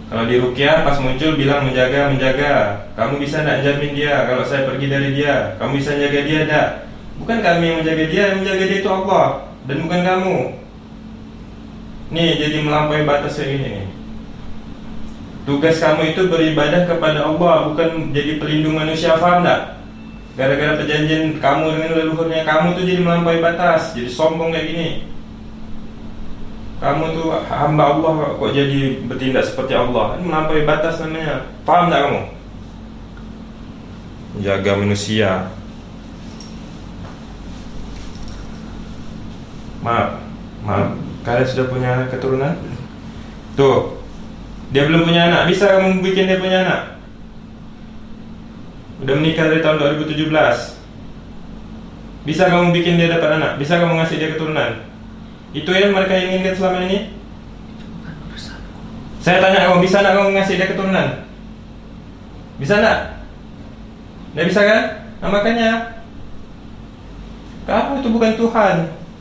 Kalau di ruqyah pas muncul bilang menjaga. Kamu bisa nak jamin dia kalau saya pergi dari dia? Kamu bisa jaga dia tak? Bukan kami yang menjaga dia, yang menjaga dia itu Allah dan bukan kamu. Nih jadi melampaui batas kayak gini nih. Tugas kamu itu beribadah kepada Allah, bukan jadi pelindung manusia, faham tak? Gara-gara perjanjian kamu dengan leluhurnya, kamu tuh jadi melampaui batas, jadi sombong kayak gini. Kamu tuh hamba Allah kok jadi bertindak seperti Allah. Ini melampaui batas namanya. Paham tak kamu? Jaga manusia. Maaf. Kalian sudah punya keturunan? Tuh, dia belum punya anak. Bisa kamu bikin dia punya anak? Udah menikah dari tahun 2017. Bisa kamu bikin dia dapat anak? Bisa kamu ngasih dia keturunan? Itu yang mereka inginkan selama ini? Saya tanya kamu, bisa nak kamu ngasih dia keturunan? Bisa nak? Nggak bisa kan? Nah makanya kamu itu bukan Tuhan.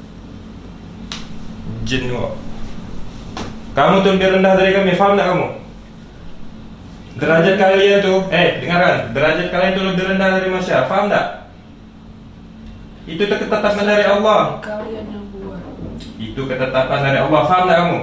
Jin kok. Kamu tuh lebih rendah dari kami, faham tak kamu? Derajat kalian tuh, dengarkan, derajat kalian tuh lebih rendah dari manusia, faham tak? Itu ketetapan dari Allah.
Kalian yang buat.
Itu ketetapan dari Allah, faham tak kamu?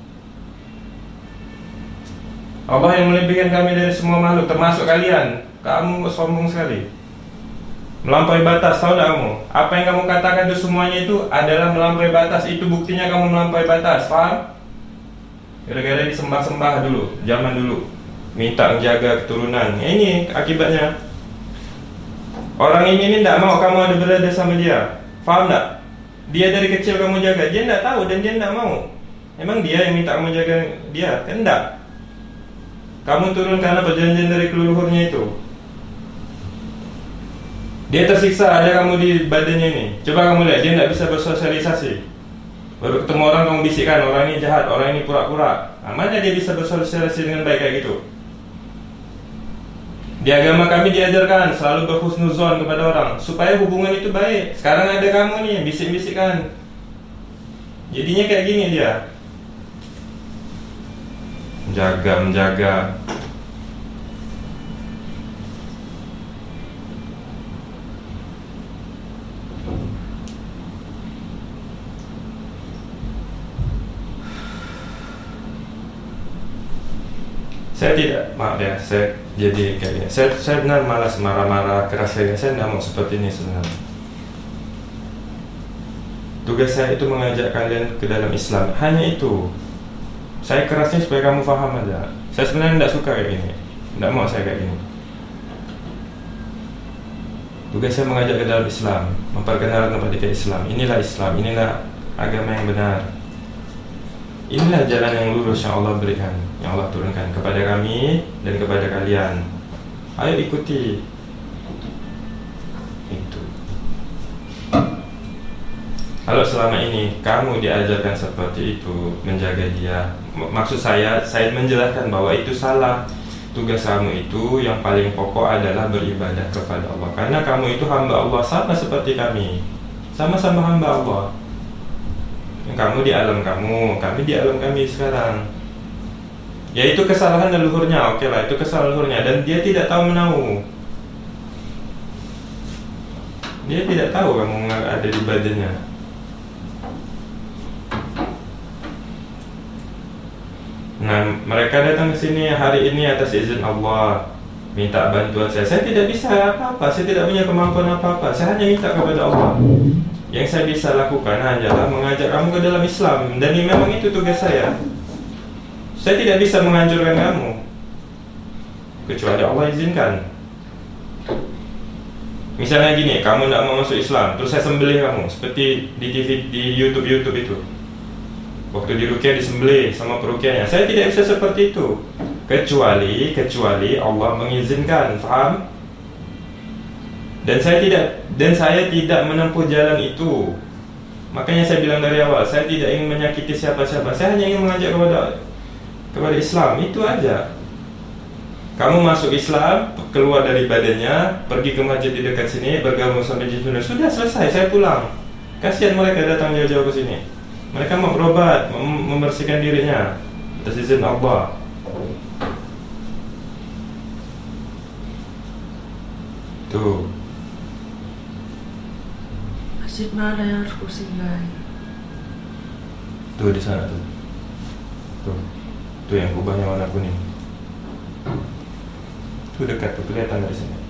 Allah yang melebihkan kami dari semua makhluk, termasuk kalian. Kamu sombong sekali, melampaui batas, tahu tak kamu? Apa yang kamu katakan itu semuanya itu adalah melampaui batas. Itu buktinya kamu melampaui batas, paham? Gara-gara disembah-sembah dulu, zaman dulu, minta menjaga keturunan. Ini akibatnya. Orang ini tidak mau kamu ada berada sama dia, paham tak? Dia dari kecil kamu jaga, dia tidak tahu dan dia tidak mau. Emang dia yang minta kamu jaga dia? Kan tidak. Kamu turun karena perjanjian dari leluhurnya itu. Dia tersiksa ada kamu di badannya ini. Coba kamu lihat, dia tidak bisa bersosialisasi. Baru ketemu orang kamu bisikkan, orang ini jahat, orang ini pura-pura. Mana dia bisa bersosialisasi dengan baik kayak gitu? Di agama kami diajarkan selalu berhusnuzon kepada orang supaya hubungan itu baik. Sekarang ada kamu nih bisik-bisikkan. Jadinya kayak gini dia. Menjaga. Saya tidak, maaf ya, saya jadi kayak gini. Saya benar malas marah-marah keras kayak gini. Saya tidak mau seperti ini sebenarnya. Tugas saya itu mengajak kalian ke dalam Islam. Hanya itu. Saya kerasnya supaya kamu paham aja. Saya sebenarnya tidak suka kayak gini. Tidak mau saya kayak gini. Tugas saya mengajak ke dalam Islam, memperkenalkan kepada kita Islam. Inilah Islam, inilah agama yang benar. Inilah jalan yang lurus yang Allah berikan, yang Allah turunkan kepada kami dan kepada kalian. Ayo ikuti. Itu. Kalau selama ini kamu diajarkan seperti itu, menjaga dia, maksud saya menjelaskan bahwa itu salah. Tugas kamu itu yang paling pokok adalah beribadah kepada Allah. Karena kamu itu hamba Allah, sama seperti kami. Sama-sama hamba Allah. Kamu di alam kamu, kami di alam kami sekarang. Ya itu kesalahan leluhurnya, oke lah, itu kesalahan leluhurnya. Dan dia tidak tahu menahu. Dia tidak tahu kamu ada di badannya. Nah, mereka datang ke sini hari ini atas izin Allah, minta bantuan saya. Saya tidak bisa apa-apa, saya tidak punya kemampuan apa-apa. Saya hanya minta kepada Allah. Yang saya bisa lakukan hanyalah mengajak kamu ke dalam Islam. Dan memang itu tugas saya. Saya tidak bisa menghancurkan kamu kecuali Allah izinkan. Misalnya gini, kamu tidak mau masuk Islam, terus saya sembelih kamu, seperti di TV, di YouTube itu. Waktu di ruqyah disembelih sama peruqyahnya. Saya tidak bisa seperti itu kecuali Allah mengizinkan, faham? Dan saya tidak menempuh jalan itu. Makanya saya bilang dari awal, saya tidak ingin menyakiti siapa-siapa. Saya hanya ingin mengajak kepada Islam, itu aja. Kamu masuk Islam, keluar dari badannya, pergi ke masjid di dekat sini, bergabung sama Jin, sudah selesai, saya pulang. Kasihan mereka datang jauh-jauh ke sini. Mereka mau berobat, membersihkan dirinya atas izin Allah. Tuh.
Masjid mana yang harus kusinggahi?
Tuh di sana tuh. Tuh yang kubahnya warna kuning. Tuh dekat tuh, kelihatan dari sini.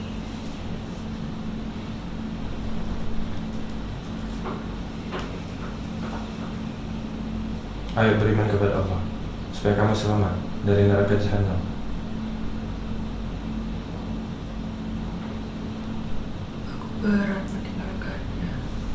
Ayo beriman kepada Allah supaya kamu selamat dari neraka jahanam.
Aku berat meninggalkannya.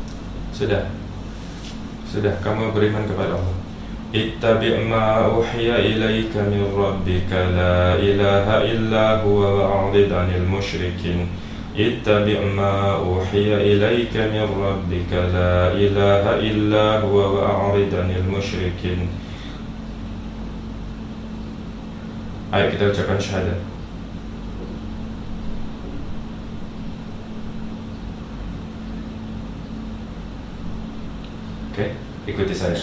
Sudah kamu beriman kepada Allah. Ittabi' ma uhiya ilaika min rabbika la ilaha illa huwa wa'rid 'anil musyrikin. Ittabi' ma uhiya ilaika min rabbika la ilaha illa huwa wa'rid 'anil musyrikin. Ayo kita ucapkan syahadat. Oke, ikuti saya.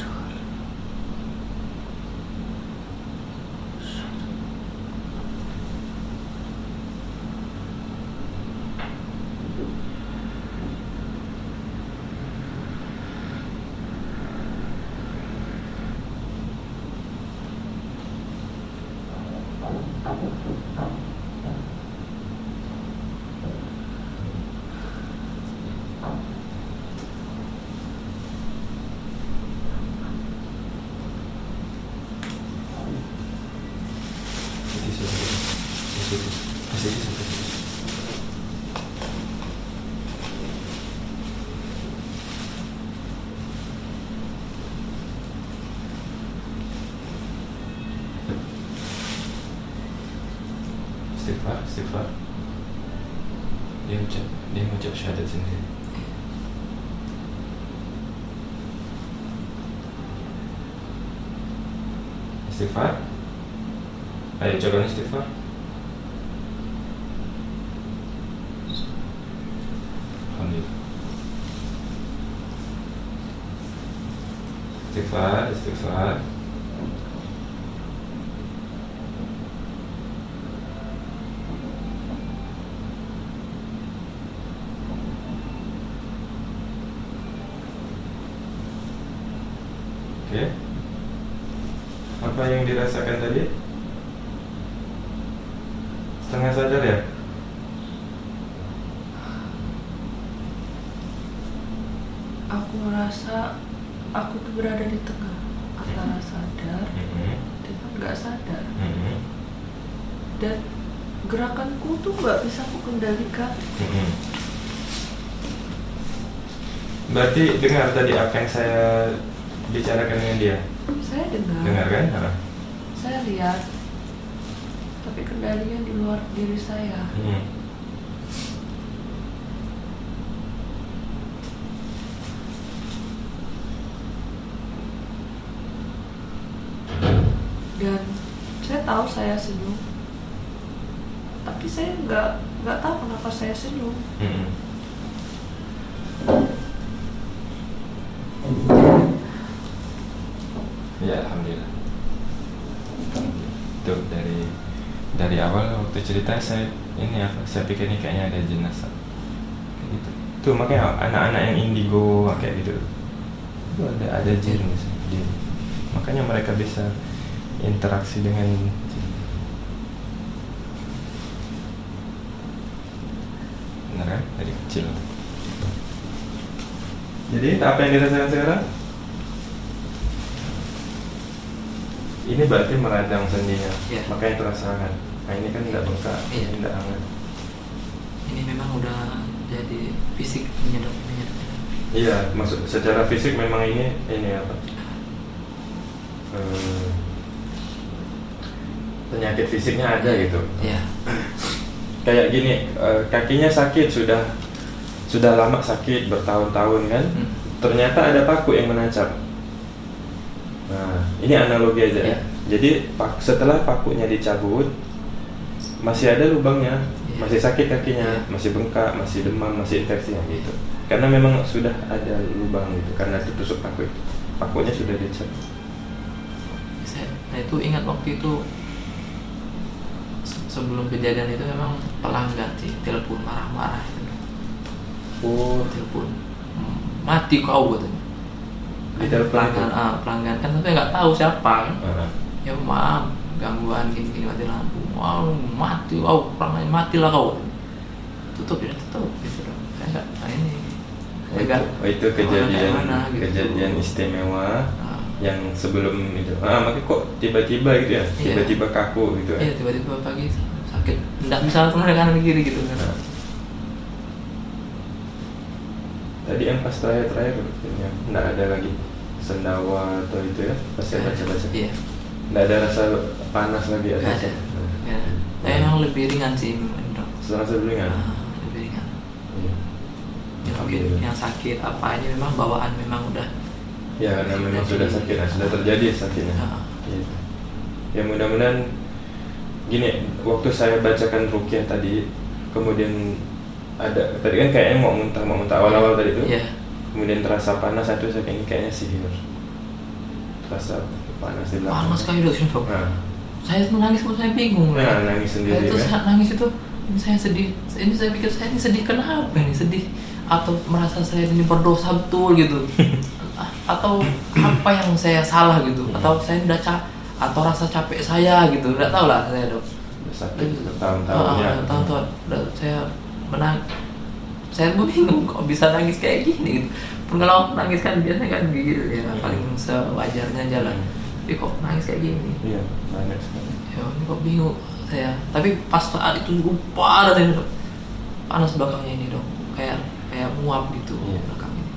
Istighfar. Dia mengucap syahadat sendiri. Istighfar. Ayo ucapkan istighfar. Alhamdulillah. Istighfar. Oke. Apa yang dirasakan tadi? Setengah sadar ya?
Aku merasa aku tuh berada di tengah antara sadar dengan nggak sadar. Dan gerakanku tuh nggak bisa aku kendalikan.
Berarti dengar tadi apa yang saya bicarakan dengan dia?
Saya dengar
kan?
Saya lihat, tapi kendalinya di luar diri saya. Dan saya tahu saya senyum, tapi saya nggak tahu kenapa saya senyum.
Ya, alhamdulillah. Tuh dari awal waktu cerita saya pikir ini kayaknya ada jenazah. Kayak gitu. Tuh makanya anak-anak yang indigo kayak gitu. Tuh ada jin. Makanya mereka bisa interaksi dengan jin. Benar kan? Dari kecil. Jadi apa yang dirasakan sekarang? Ini berarti meradang sendinya, makanya terasa hangat. Nah ini kan tidak bengkak, ini tidak hangat.
Ini memang udah jadi fisik menyedot.
Iya, maksud secara fisik memang ini apa? Penyakit fisiknya ada gitu.
Iya.
Kayak gini, kakinya sakit sudah lama sakit bertahun-tahun kan. Ternyata ada paku yang menancap. Nah, ini analogi aja ya. Jadi setelah pakunya dicabut, masih ada lubangnya, masih sakit kakinya, masih bengkak, masih demam, masih infeksi gitu. Karena memang sudah ada lubang gitu, karena tertusuk paku itu. Pakunya sudah dicabut.
Saya itu ingat waktu itu sebelum kejadian itu memang pelanggan sih telepon marah-marah gitu. Telepon mati kau katanya. Pelanggan kan tapi nggak tahu siapa kan. Ya maaf gangguan gini mati lampu. Wow mati, wow pelanggan matilah kau. Tutup gitu. Saya nggak ini.
Itu kejadian istimewa yang sebelum itu. Makanya kok tiba-tiba gitu ya, tiba-tiba kaku gitu ya.
Iya, tiba-tiba pagi sakit, nggak bisa kemudian kanan kiri gitu kan.
Tadi yang pas terakhir nggak ada lagi sendawa atau itu ya, pas saya baca-baca.
Iya.
Nggak ada rasa panas lagi
nggak ada. Ya. Emang lebih ringan sih dok.
Serasa lebih ringan.
Lebih ringan.
Iya.
Mungkin yang sakit apa ini memang bawaan memang udah.
Ya karena memang sudah sakit, sudah terjadi sakitnya. Gitu. Ya mudah-mudahan gini, waktu saya bacakan ruqyah tadi, kemudian ada tadi kan kayaknya mau muntah awal-awal tadi itu, kemudian terasa panas, itu saya kayaknya sihir, terasa panas di belakang.
Panas kayak dok. Saya nangis pun saya bingung.
Nangis sendiri.
Terus nangis itu, ini saya sedih. Ini saya pikir saya ini sedih kenapa ini sedih? Atau merasa saya ini berdosa betul gitu? Atau apa yang saya salah gitu? Atau saya udah atau rasa capek saya gitu? Nggak tahu lah saya dok.
Sakit tahun-tahunnya.
Tahun-tahun saya saya bingung kok bisa nangis kayak gini gitu. Pun kalau nangis kan biasanya kan gigil ya paling sewajarnya jalan. Tapi kok nangis kayak gini?
Iya, banyak sekali.
Ya, ini kok bingung saya. Tapi pas saat itu parah ini dok. Panas belakangnya ini dok. Kayak muap gitu belakang ini.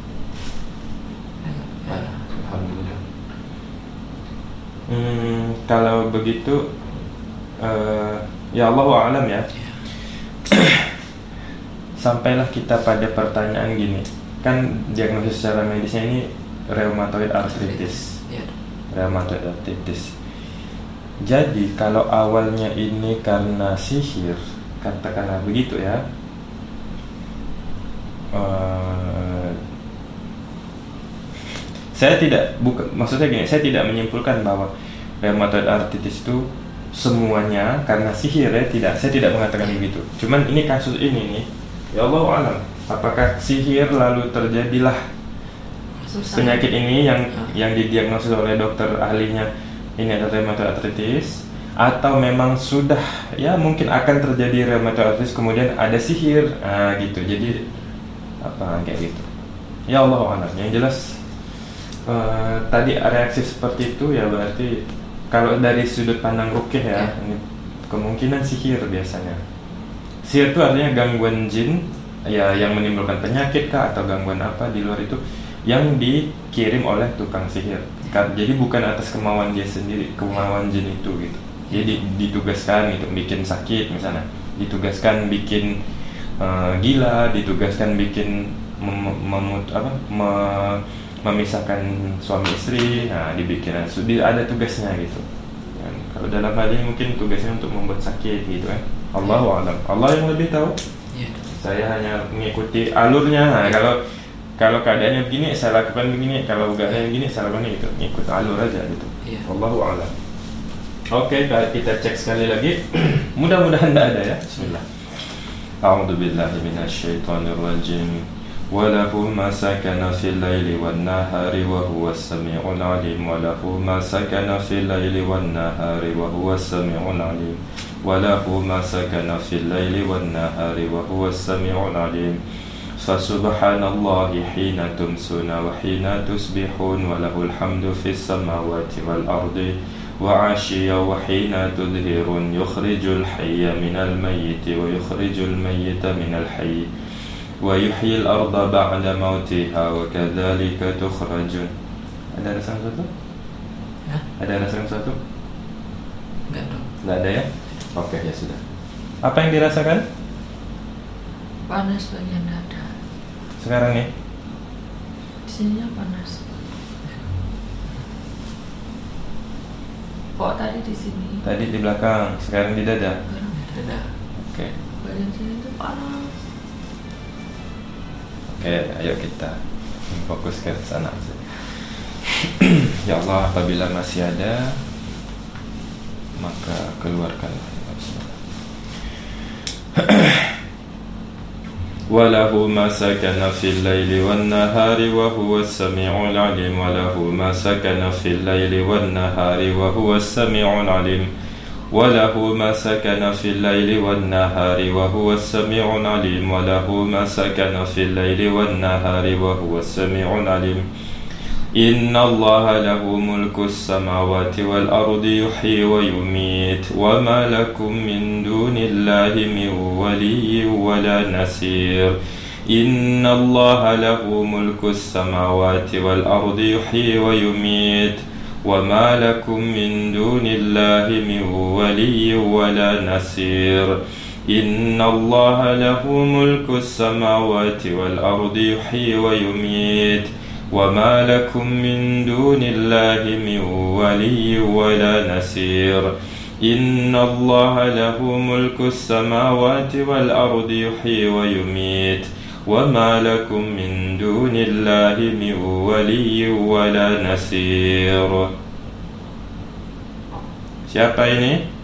Ya.
Alhamdulillah. Kalau begitu, ya Allahu a'lam ya. Sampailah kita pada pertanyaan gini, kan diagnosis secara medisnya ini rheumatoid arthritis. Rheumatoid arthritis. Jadi kalau awalnya ini karena sihir, katakanlah begitu ya, maksudnya gini, saya tidak menyimpulkan bahwa rheumatoid arthritis itu semuanya karena sihir ya, saya tidak mengatakan begitu. Cuman ini kasus ini nih, ya Allah alam, apakah sihir lalu terjadilah penyakit ini yang didiagnosis oleh dokter ahlinya ini adalah rheumatoid arthritis, atau memang sudah ya mungkin akan terjadi rheumatoid arthritis kemudian ada sihir gitu. Jadi apa kayak gitu. Ya Allah alam. Yang jelas tadi reaksi seperti itu ya berarti kalau dari sudut pandang ruqyah ya, ini kemungkinan sihir biasanya. Sihir itu artinya gangguan jin ya yang menimbulkan penyakit kah atau gangguan apa di luar itu yang dikirim oleh tukang sihir. Jadi bukan atas kemauan dia sendiri, kemauan jin itu gitu. Jadi ditugaskan gitu bikin sakit misalnya, ditugaskan bikin gila, ditugaskan bikin memisahkan suami istri, dibikin ada tugasnya gitu. Kalau dalam hal ini mungkin tugasnya untuk membuat sakit gitu kan. Allahu a'lam. Allah yang lebih tahu. Saya hanya mengikuti alurnya. Kalau keadaannya begini saya lakukan begini, kalau keadaannya begini saya lakukan itu, ngikut alur aja gitu. Allahu a'lam. Oke, kita cek sekali lagi. Mudah-mudahan tidak ada ya. Bismillah. A'udzubillahi minasyaitonirrajim. وله ما سكن في الليل والنهار وهو السميع العليم وله ما سكن في الليل والنهار وهو السميع العليم وله ما سكن في الليل والنهار وهو السميع العليم فسبحان الله حين تمسون وحين تصبحون وله الحمد في السماوات والأرض وعشيا وحين تظهرون يخرج الحي من الميت ويخرج الميت من الحي ويحيي الأرض بعد موتها وكذلك تخرجون. Ada rasa sesuatu? Ada rasa sesuatu?
Enggak dong.
Enggak ada ya? Oke ya sudah. Apa yang dirasakan?
Panas bagian dada.
Sekarang nih?
Sininya panas. Kok tadi di sini?
Tadi di belakang, sekarang di dada.
Sekarang di dada.
Oke.
Bagian sini itu panas.
Oke, ayo kita fokus ke sana. Ya Allah, apabila masih ada maka keluarkanlah. وله ما سكن في الليل والنهار وهو السميع العليم وله ما سكن في الليل والنهار وهو السميع العليم وله ما سكن في الليل والنهار وهو السميع العليم وله ما سكن في الليل والنهار وهو السميع العليم إن الله له ملك السماوات والأرض يحيي ويميت وما لكم من دون الله من ولي ولا نصير إن الله له ملك السماوات والأرض يحيي ويميت وما لكم من دون الله من ولي ولا نصير إن الله له ملك السماوات والأرض يحيي ويميت وما لكم من دون الله من ولي ولا نصير إن الله له ملك السماوات والأرض يحيي ويميت وما لكم من دون الله من ولي ولا نصير. Siapa ini?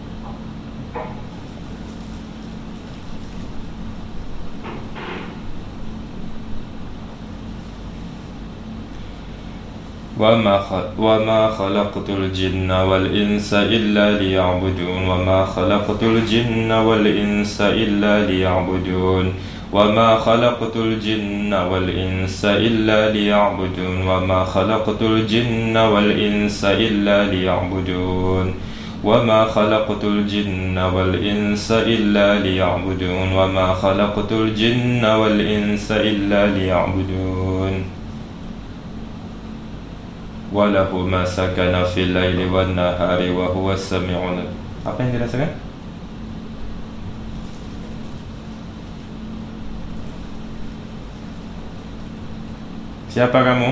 وما خلقت الجن والإنس إلا ليعبدون وما خلقت الجن والإنس إلا ليعبدون وما خلقت الجن والإنس إلا ليعبدون وما خلقت الجن والإنس إلا ليعبدون وما خلقت الجن والإنس إلا ليعبدون وما خلقت الجن والإنس إلا ليعبدون وله ما سكن في الليل والنهار وهو السميع العليم. Apa yang dirasakan? Siapa kamu?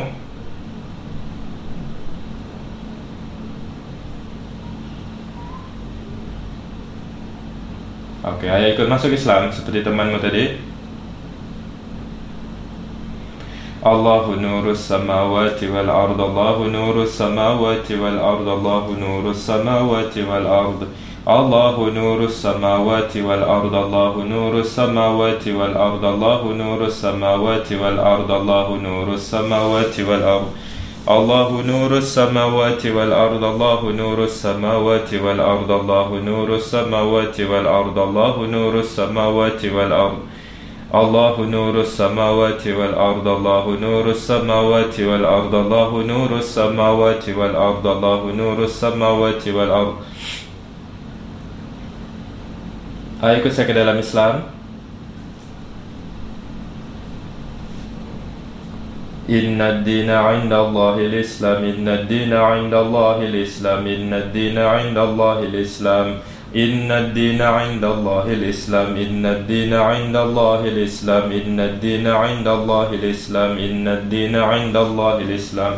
Oke, ayo ikut masuk Islam seperti temanmu tadi. الله نور السماوات والأرض الله نور السماوات والأرض الله نور السماوات والأرض الله نور السماوات والأرض الله نور السماوات والأرض الله نور السماوات والأرض الله نور السماوات والأرض الله نور السماوات والأرض الله نور السماوات والأرض الله نور السماوات والأرض الله نور السماوات والأرض الله نور السماوات والأرض الله نور السماوات والأرض الله نور السماوات والأرض الله نور السماوات والأرض. Ayo ikut saya ke dalam Islam. Inna ad-dina 'inda Allahil Islam Inna ad-dina 'inda Allahil Islam Inna ad-dina 'inda Allahil Islam إن الدين عند الله الإسلام إن الدين عند الله الإسلام إن الدين عند الله الإسلام إن الدين عند الله الإسلام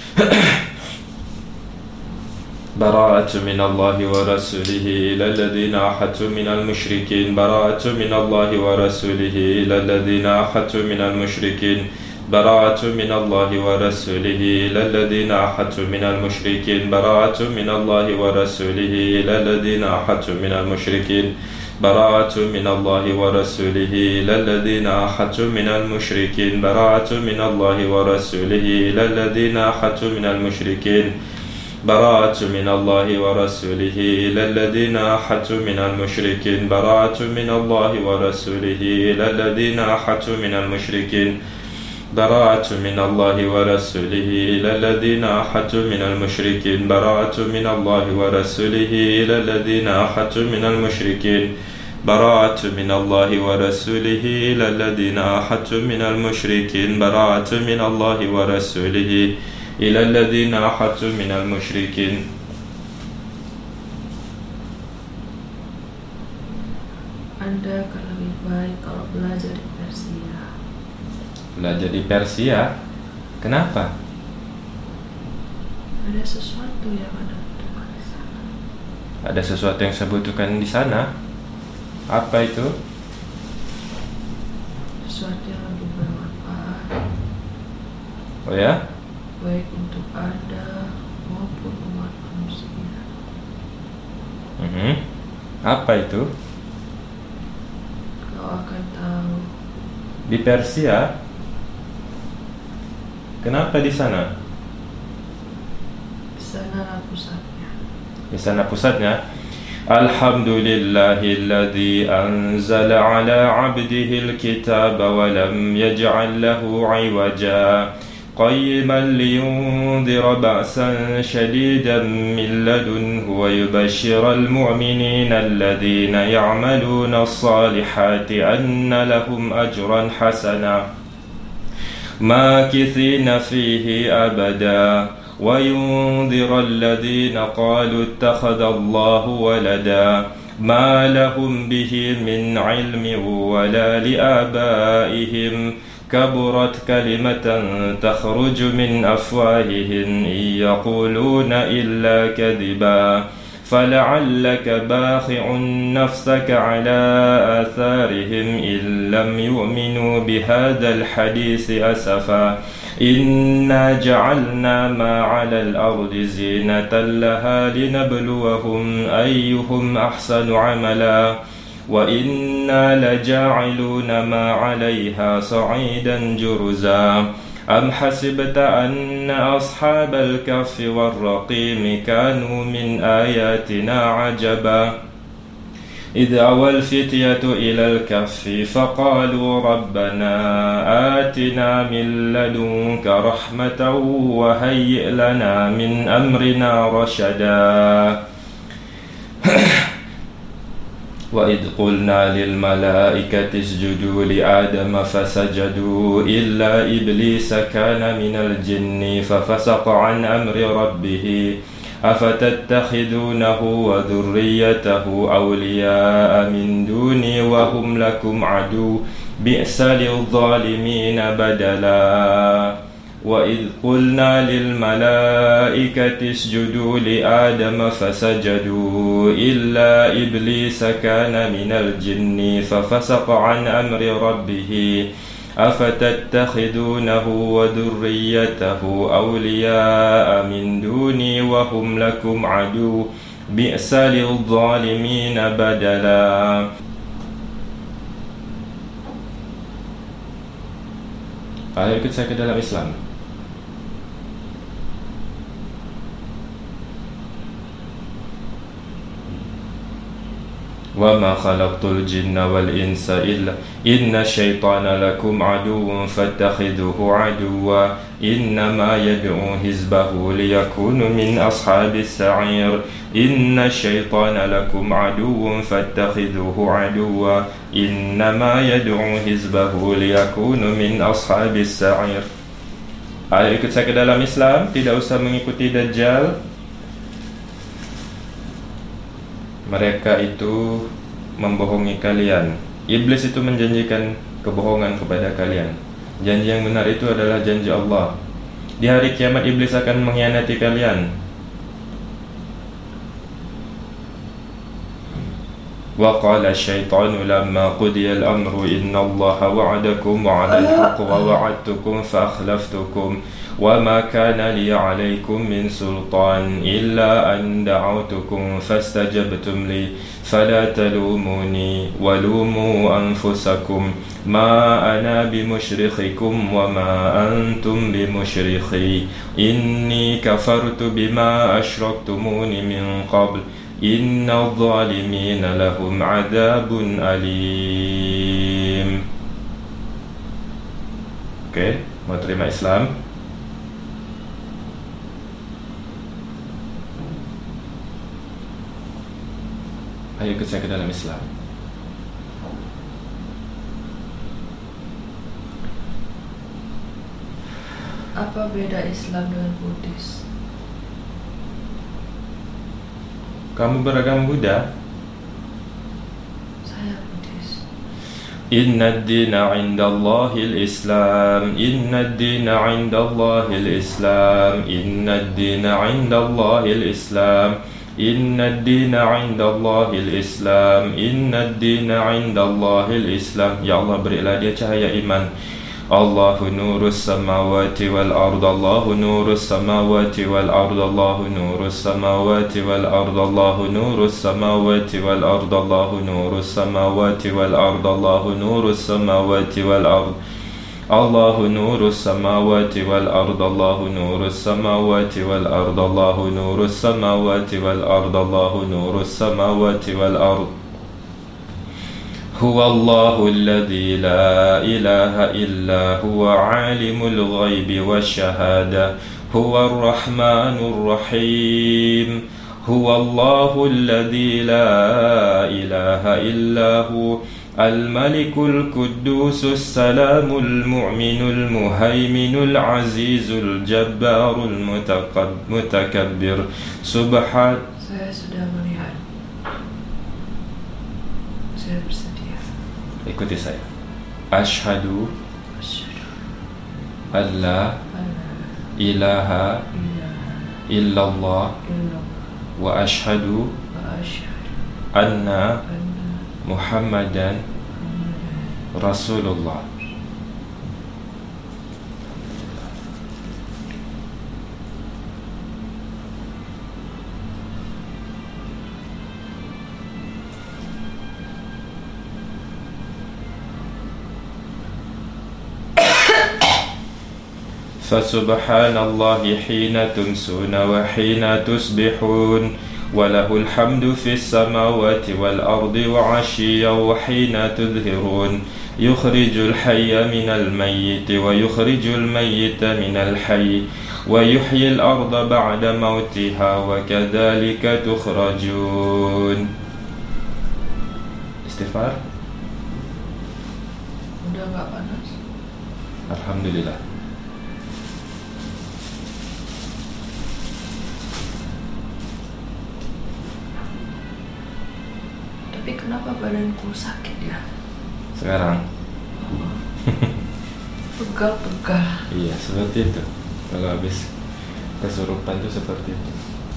براءة من الله ورسوله إلى الذين عاهدتم من المشركين براءة من الله ورسوله إلى الذين عاهدتم من المشركين براءة من الله ورسوله إلى الذين عاهدتم من المشركين براءة من الله ورسوله إلى الذين عاهدتم من المشركين براءة من الله ورسوله إلى الذين عاهدتم من المشركين براءة من الله ورسوله إلى الذين عاهدتم من المشركين براءة من الله ورسوله إلى الذين عاهدتم من المشركين براءة من الله ورسوله إلى الذين عاهدتم من المشركين براءة من الله ورسوله إلى الذين عاهدتم من المشركين براءة من الله ورسوله إلى الذين عاهدتم من المشركين براءة من الله ورسوله إلى الذين عاهدتم من المشركين براءة من الله ورسوله إلى الذين عاهدتم من المشركين.
Anda akan lebih baik kalau belajar di Persia.
Belajar di Persia? Kenapa?
Ada sesuatu yang Anda butuhkan di sana.
Ada sesuatu yang saya butuhkan di sana? Apa itu?
Sesuatu yang lebih bermanfaat.
Oh ya?
Baik untuk Anda maupun umat manusia.
Apa itu?
Kau akan tahu
Di Persia. Kenapa di sana?
Di sana pusatnya.
Di sana pusatnya. Alhamdulillahilladzi anzala ala 'abdihi al-kitaba wa lam yaj'al lahu 'iwaja qayyiman liyundhira ba'san shadidan min ladunhu wa yubashshiral mu'minina alladhina ya'maluna as-salihati anna lahum ajran hasana makithina fihi abada وينذر الذين قالوا اتخذ الله ولدا ما لهم به من علم ولا لآبائهم كبرت كلمة تخرج من أفواههم إن يقولون إلا كذبا فلعلك باخع نفسك على آثارهم إن لم يؤمنوا بهذا الحديث أسفا إنا جعلنا ما على الأرض زينة لها لنبلوهم أيهم أحسن عملا وإنا لجاعلون ما عليها صعيدا جرزا أم حسبت أن أصحاب الكهف والرقيم كانوا من آياتنا عجبا إذ أوى الفتية إلى الكهف فقالوا ربنا آتنا من لدنك رحمة وهيئ لنا من أمرنا رشدا وإذ قلنا للملائكة اسجدوا لآدم فسجدوا إلا إبليس كان من الجن ففسق عن أمر ربه أفتتخذونه وذريته أولياء من دوني وهم لكم عدو بئس للظالمين بدلا وإذ قلنا للملائكة اسجدوا لآدم فسجدوا إلا إبليس كان من الجن ففسق عن أمر ربه أفتتخذونه وذريته أولياء من دوني وهم لكم عدو بئس للظالمين بدلا. Ayo ikut saya ke dalam Islam. وما خلقت الجن والإنس إلا إن الشيطان لكم عدو فاتخذوه عدوا إنما يدعو حزبه ليكونوا من أصحاب السعير إن الشيطان لكم عدو فاتخذوه عدوا إنما يدعو حزبه ليكونوا من أصحاب السعير. Ayo ikut saya ke dalam Islam, tidak usah mengikuti Dajjal. Mereka itu membohongi kalian. Iblis itu menjanjikan kebohongan kepada kalian. Janji yang benar itu adalah janji Allah. Di hari kiamat iblis akan mengkhianati kalian. Wa qala asy-syaitanu lamma qudiya al-amru inna Allaha wa'adakum wa'adal haqq wa wa'adtukum fa akhlaftukum وما كان لي عليكم من سلطان إلا أن دعوتكم فاستجبتم لي فلا تلوموني ولوموا أنفسكم ما أنا بمشرخكم وما أنتم بمشرخي إني كفرت بما أشركتمون من قبل إن الظالمين لهم عذاب أليم. Oke, mau terima Islam? Ayo ikut saya ke dalam Islam.
Apa beda Islam dengan Buddhis?
Kamu beragama Buddha?
Saya Buddhis.
Inna ad-dina 'inda Allahil Islam. Inna ad-dina 'inda Allahil Islam. Inna ad-dina 'inda Allahil Islam. Inna ad-dina 'inda Allahil Islam. Inna ad-dina 'inda Allahil Islam. Ya Allah, berilah dia cahaya iman. Allahu nurus samawati wal ard, Allahu nurus samawati wal ard, Allahu nurus samawati wal ard, Allahu nurus samawati wal ard, Allahu nurus samawati wal ard, Allahu nurus samawati wal ard, Allahu nurus samawati wal ard, Allahu nurus samawati wal ard, Allahu nurus samawati wal ard, Allahu nurus samawati wal ard. Huwa Allahu alladhi la ilaha illa huwa alimul ghaibi wasyahada, huwa ar-rahmanur rahim. Huwa Allahu alladhi la ilaha illa huwa al-malikul quddusus salamul mu'minul muhaiminul azizul jabbarul mutakabbir. Subhan.
Saya sudah melihat. Saya bersedia.
Ikuti saya. Ashhadu alla ilaha illallah wa ashhadu anna Muhammadan Rasulullah. فسبحان الله حين تمسون وحين تصبحون وله الحمد في السماوات والأرض وعشيا وحين تظهرون يخرج الحي من الميت ويخرج الميت من الحي ويحيي الأرض بعد موتها وكذلك تخرجون. Istighfar.
Udah gak panas?
Alhamdulillah.
Tapi kenapa badanku sakit ya?
Sekarang
Pegal-pegal.
iya seperti itu. Kalau habis kesurupan itu seperti itu.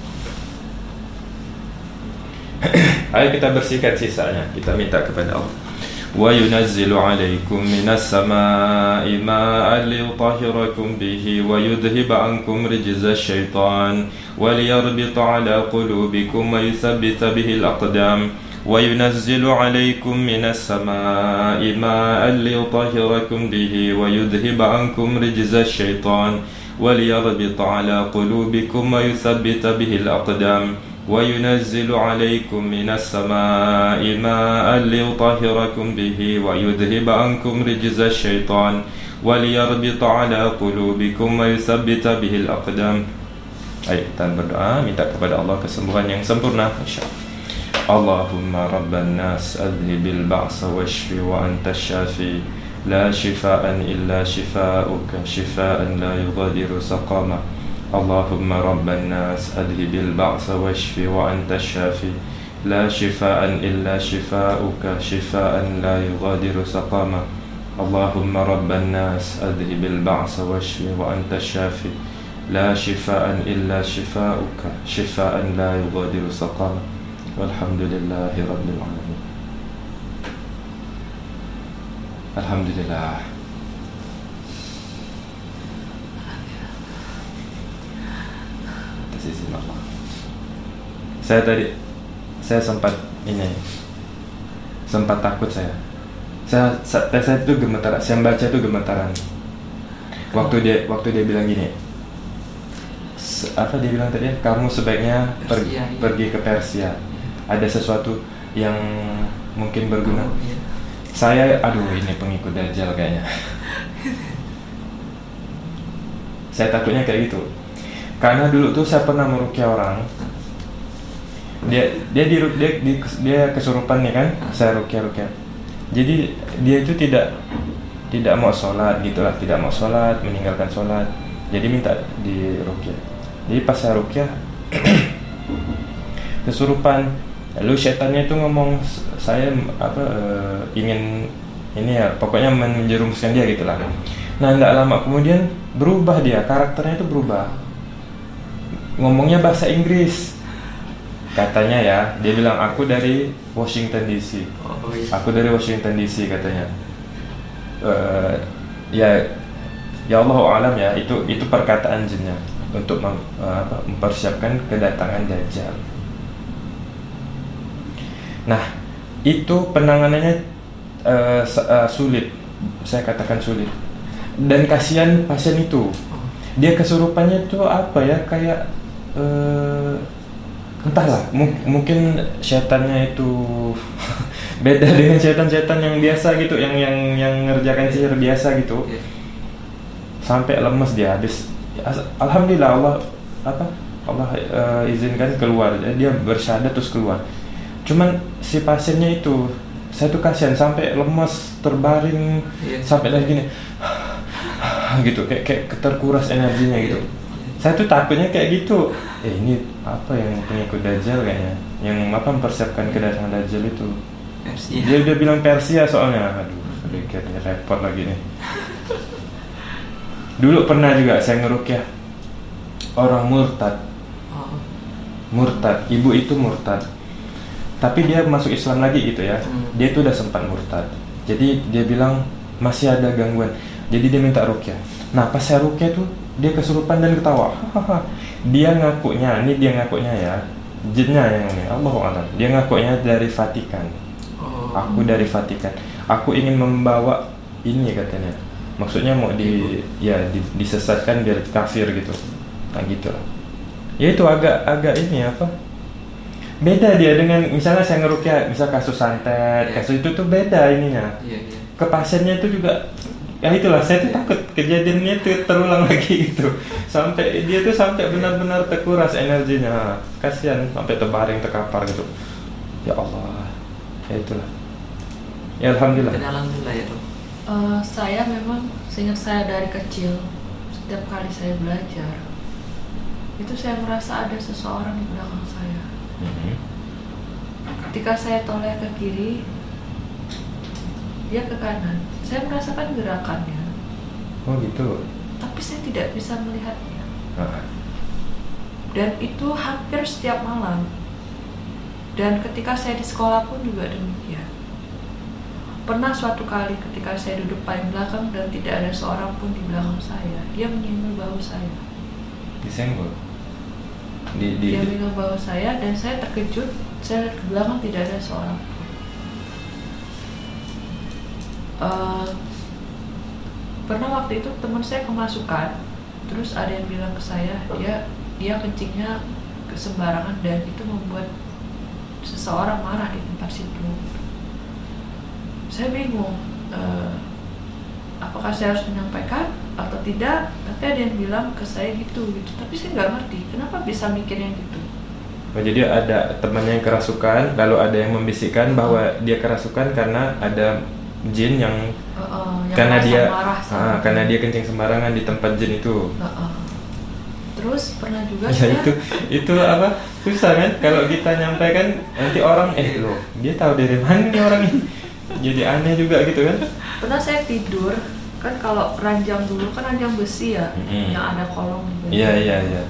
Ayo kita bersihkan sisanya. Kita minta kepada Allah. Wa yunazzilu 'alaikum minas samaa'i maa'an liyutahhirakum bihi wa yudhhiba 'ankum rijza syaitan wa liyarbita 'ala qulubikum wa yuthabbita bihi al-aqdam. وينزل عليكم من السماء ماء ليطهركم به ويذهب عنكم رجز الشيطان وليربط على قلوبكم ويثبت به الأقدام وينزل عليكم من السماء ماء ليطهركم به ويذهب عنكم رجز الشيطان وليربط على قلوبكم ويثبت به الأقدام. Ayo kita berdoa minta kepada Allah kesembuhan yang sempurna insyaallah. Allahumma rabban nas adhibil ba'sa washfi wa anta syafi la shifaan illa shifauka shifaan la yughadiru saqama. Allahumma rabban nas adhibil ba'sa washfi wa anta syafi la shifaan illa shifauka shifaan la yughadiru saqama. Allahumma rabban nas adhibil ba'sa washfi wa anta syafi la shifaan illa shifauka shifaan la yughadiru saqama. Walhamdulillahi Rabbil Alamin. Alhamdulillah. Atas izin Allah. Saya sempat takut saya itu gemetaran. Saya baca itu gemetaran. Waktu dia bilang gini, apa dia bilang tadi? Kamu sebaiknya pergi ke Persia. Ada sesuatu yang mungkin berguna. Saya, ini pengikut Dajjal kayaknya. Saya takutnya kayak gitu. Karena dulu tuh saya pernah meruqyah orang. Dia kesurupan nih kan, saya ruqyah. Jadi dia itu tidak mau sholat gitulah, tidak mau sholat, meninggalkan sholat. Jadi minta di ruqyah. Jadi pas saya ruqyah kesurupan. Lalu setannya itu ngomong saya ingin ini ya, pokoknya menjerumuskan dia gitulah. Nah, tidak lama kemudian berubah dia, karakternya itu berubah. Ngomongnya bahasa Inggris. Katanya ya, dia bilang aku dari Washington DC. Aku dari Washington DC katanya. ya Allah alam ya, itu perkataan jinnya untuk mempersiapkan kedatangan Dajjal. Nah, itu penanganannya sulit, saya katakan sulit. Dan kasihan pasien itu, dia kesurupannya itu apa ya, kayak entahlah, mungkin setannya itu beda dengan setan-setan yang biasa gitu, yang ngerjakan sihir biasa gitu. Sampai lemes dia habis. Alhamdulillah Allah izinkan keluar, dia bersyahadat terus keluar. Cuman si pasiennya itu, saya tuh kasihan, sampai lemes, terbaring, sampai lagi gini gitu, kayak terkuras energinya gitu. Saya tuh takutnya kayak gitu. Ini apa yang pengikut Dajjal kayaknya, yang mempersiapkan kedatangan Dajjal itu. Persia. Dia bilang Persia soalnya. Aduh, kayaknya repot lagi nih. Dulu pernah juga saya ngerukyah orang murtad, ibu itu murtad, tapi dia masuk Islam lagi gitu ya. Dia itu udah sempat murtad, jadi dia bilang masih ada gangguan, jadi dia minta rukyah. Nah pas saya rukyah tuh dia kesurupan dan ketawa. Dia ngakunya ya, jinnya yang ini, Allahuakbar. Dia ngakunya dari Vatikan. Aku dari Vatikan, aku ingin membawa ini katanya. Maksudnya mau disesatkan biar kafir gitu. Nah gitu lah. Ya itu agak ini apa? Beda dia dengan misalnya saya ngerukyah, misal kasus santet, kasus itu tuh beda ininya. Ke pasiennya itu juga, ya itulah, saya tuh takut kejadiannya tuh terulang lagi gitu. Sampai dia tuh sampai benar-benar terkuras energinya. Kasihan sampai terbaring, terkapar gitu. Ya Allah. Ya itulah. Ya alhamdulillah.
Alhamdulillah ya, Dok.
Saya memang seingat saya dari kecil, setiap kali saya belajar itu saya merasa ada seseorang di belakang saya. Ketika saya toleh ke kiri, dia ke kanan, saya merasakan gerakannya.
Oh gitu.
Tapi saya tidak bisa melihatnya. Dan itu hampir setiap malam. Dan ketika saya di sekolah pun juga demikian. Pernah suatu kali ketika saya duduk paling belakang dan tidak ada seorang pun di belakang saya, dia menyenggol bahu saya.
Disenggol?
Dia menyenggol bahu saya dan saya terkejut. Saya lihat ke belakang tidak ada seorang pun. Pernah waktu itu teman saya kemasukan, terus ada yang bilang ke saya, dia kencingnya sembarangan dan itu membuat seseorang marah di tempat situ. Saya bingung, apakah saya harus menyampaikan atau tidak, tapi ada yang bilang ke saya gitu. Tapi saya nggak ngerti, kenapa bisa mikirnya gitu.
Oh, jadi ada temannya yang kerasukan, lalu ada yang membisikkan bahwa dia kerasukan karena ada jin yang karena dia kencing sembarangan di tempat jin itu.
Terus pernah juga
ya, itu apa, susah kan kalau kita nyampaikan, nanti orang loh dia tahu dari mana nih orang ini. Jadi aneh juga gitu kan.
Pernah saya tidur, kan kalau ranjang dulu kan ranjang besi ya, yang ada kolong gitu.
Iya.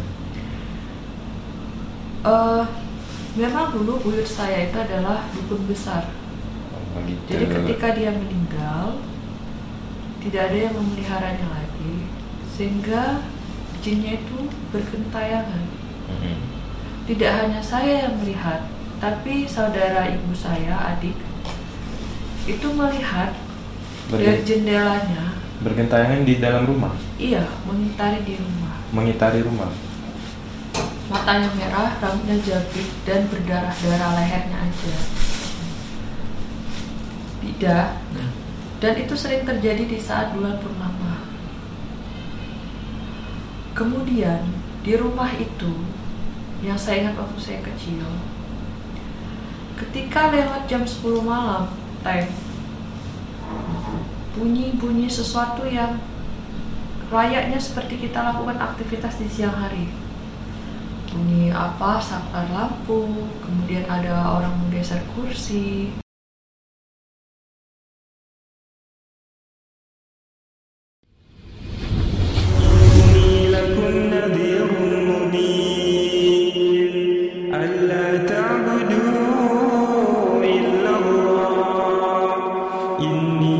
Memang dulu buyut saya itu adalah dukun besar.
Gitu.
Jadi ketika dia meninggal, tidak ada yang memeliharanya lagi, sehingga jinnya itu bergentayangan. Tidak hanya saya yang melihat, tapi saudara ibu saya, adik, itu melihat dari jendelanya.
Bergentayangan di dalam rumah?
Iya, mengitari rumah. Matanya merah, rambutnya jabrik, dan berdarah-darah, lehernya aja. Bidah. Dan itu sering terjadi di saat bulan purnama. Kemudian di rumah itu, yang saya ingat waktu saya kecil, ketika lewat jam 10 malam, bunyi sesuatu yang layaknya seperti kita lakukan aktivitas di siang hari. Bunyi apa, saklar lampu, kemudian ada orang menggeser kursi.
إني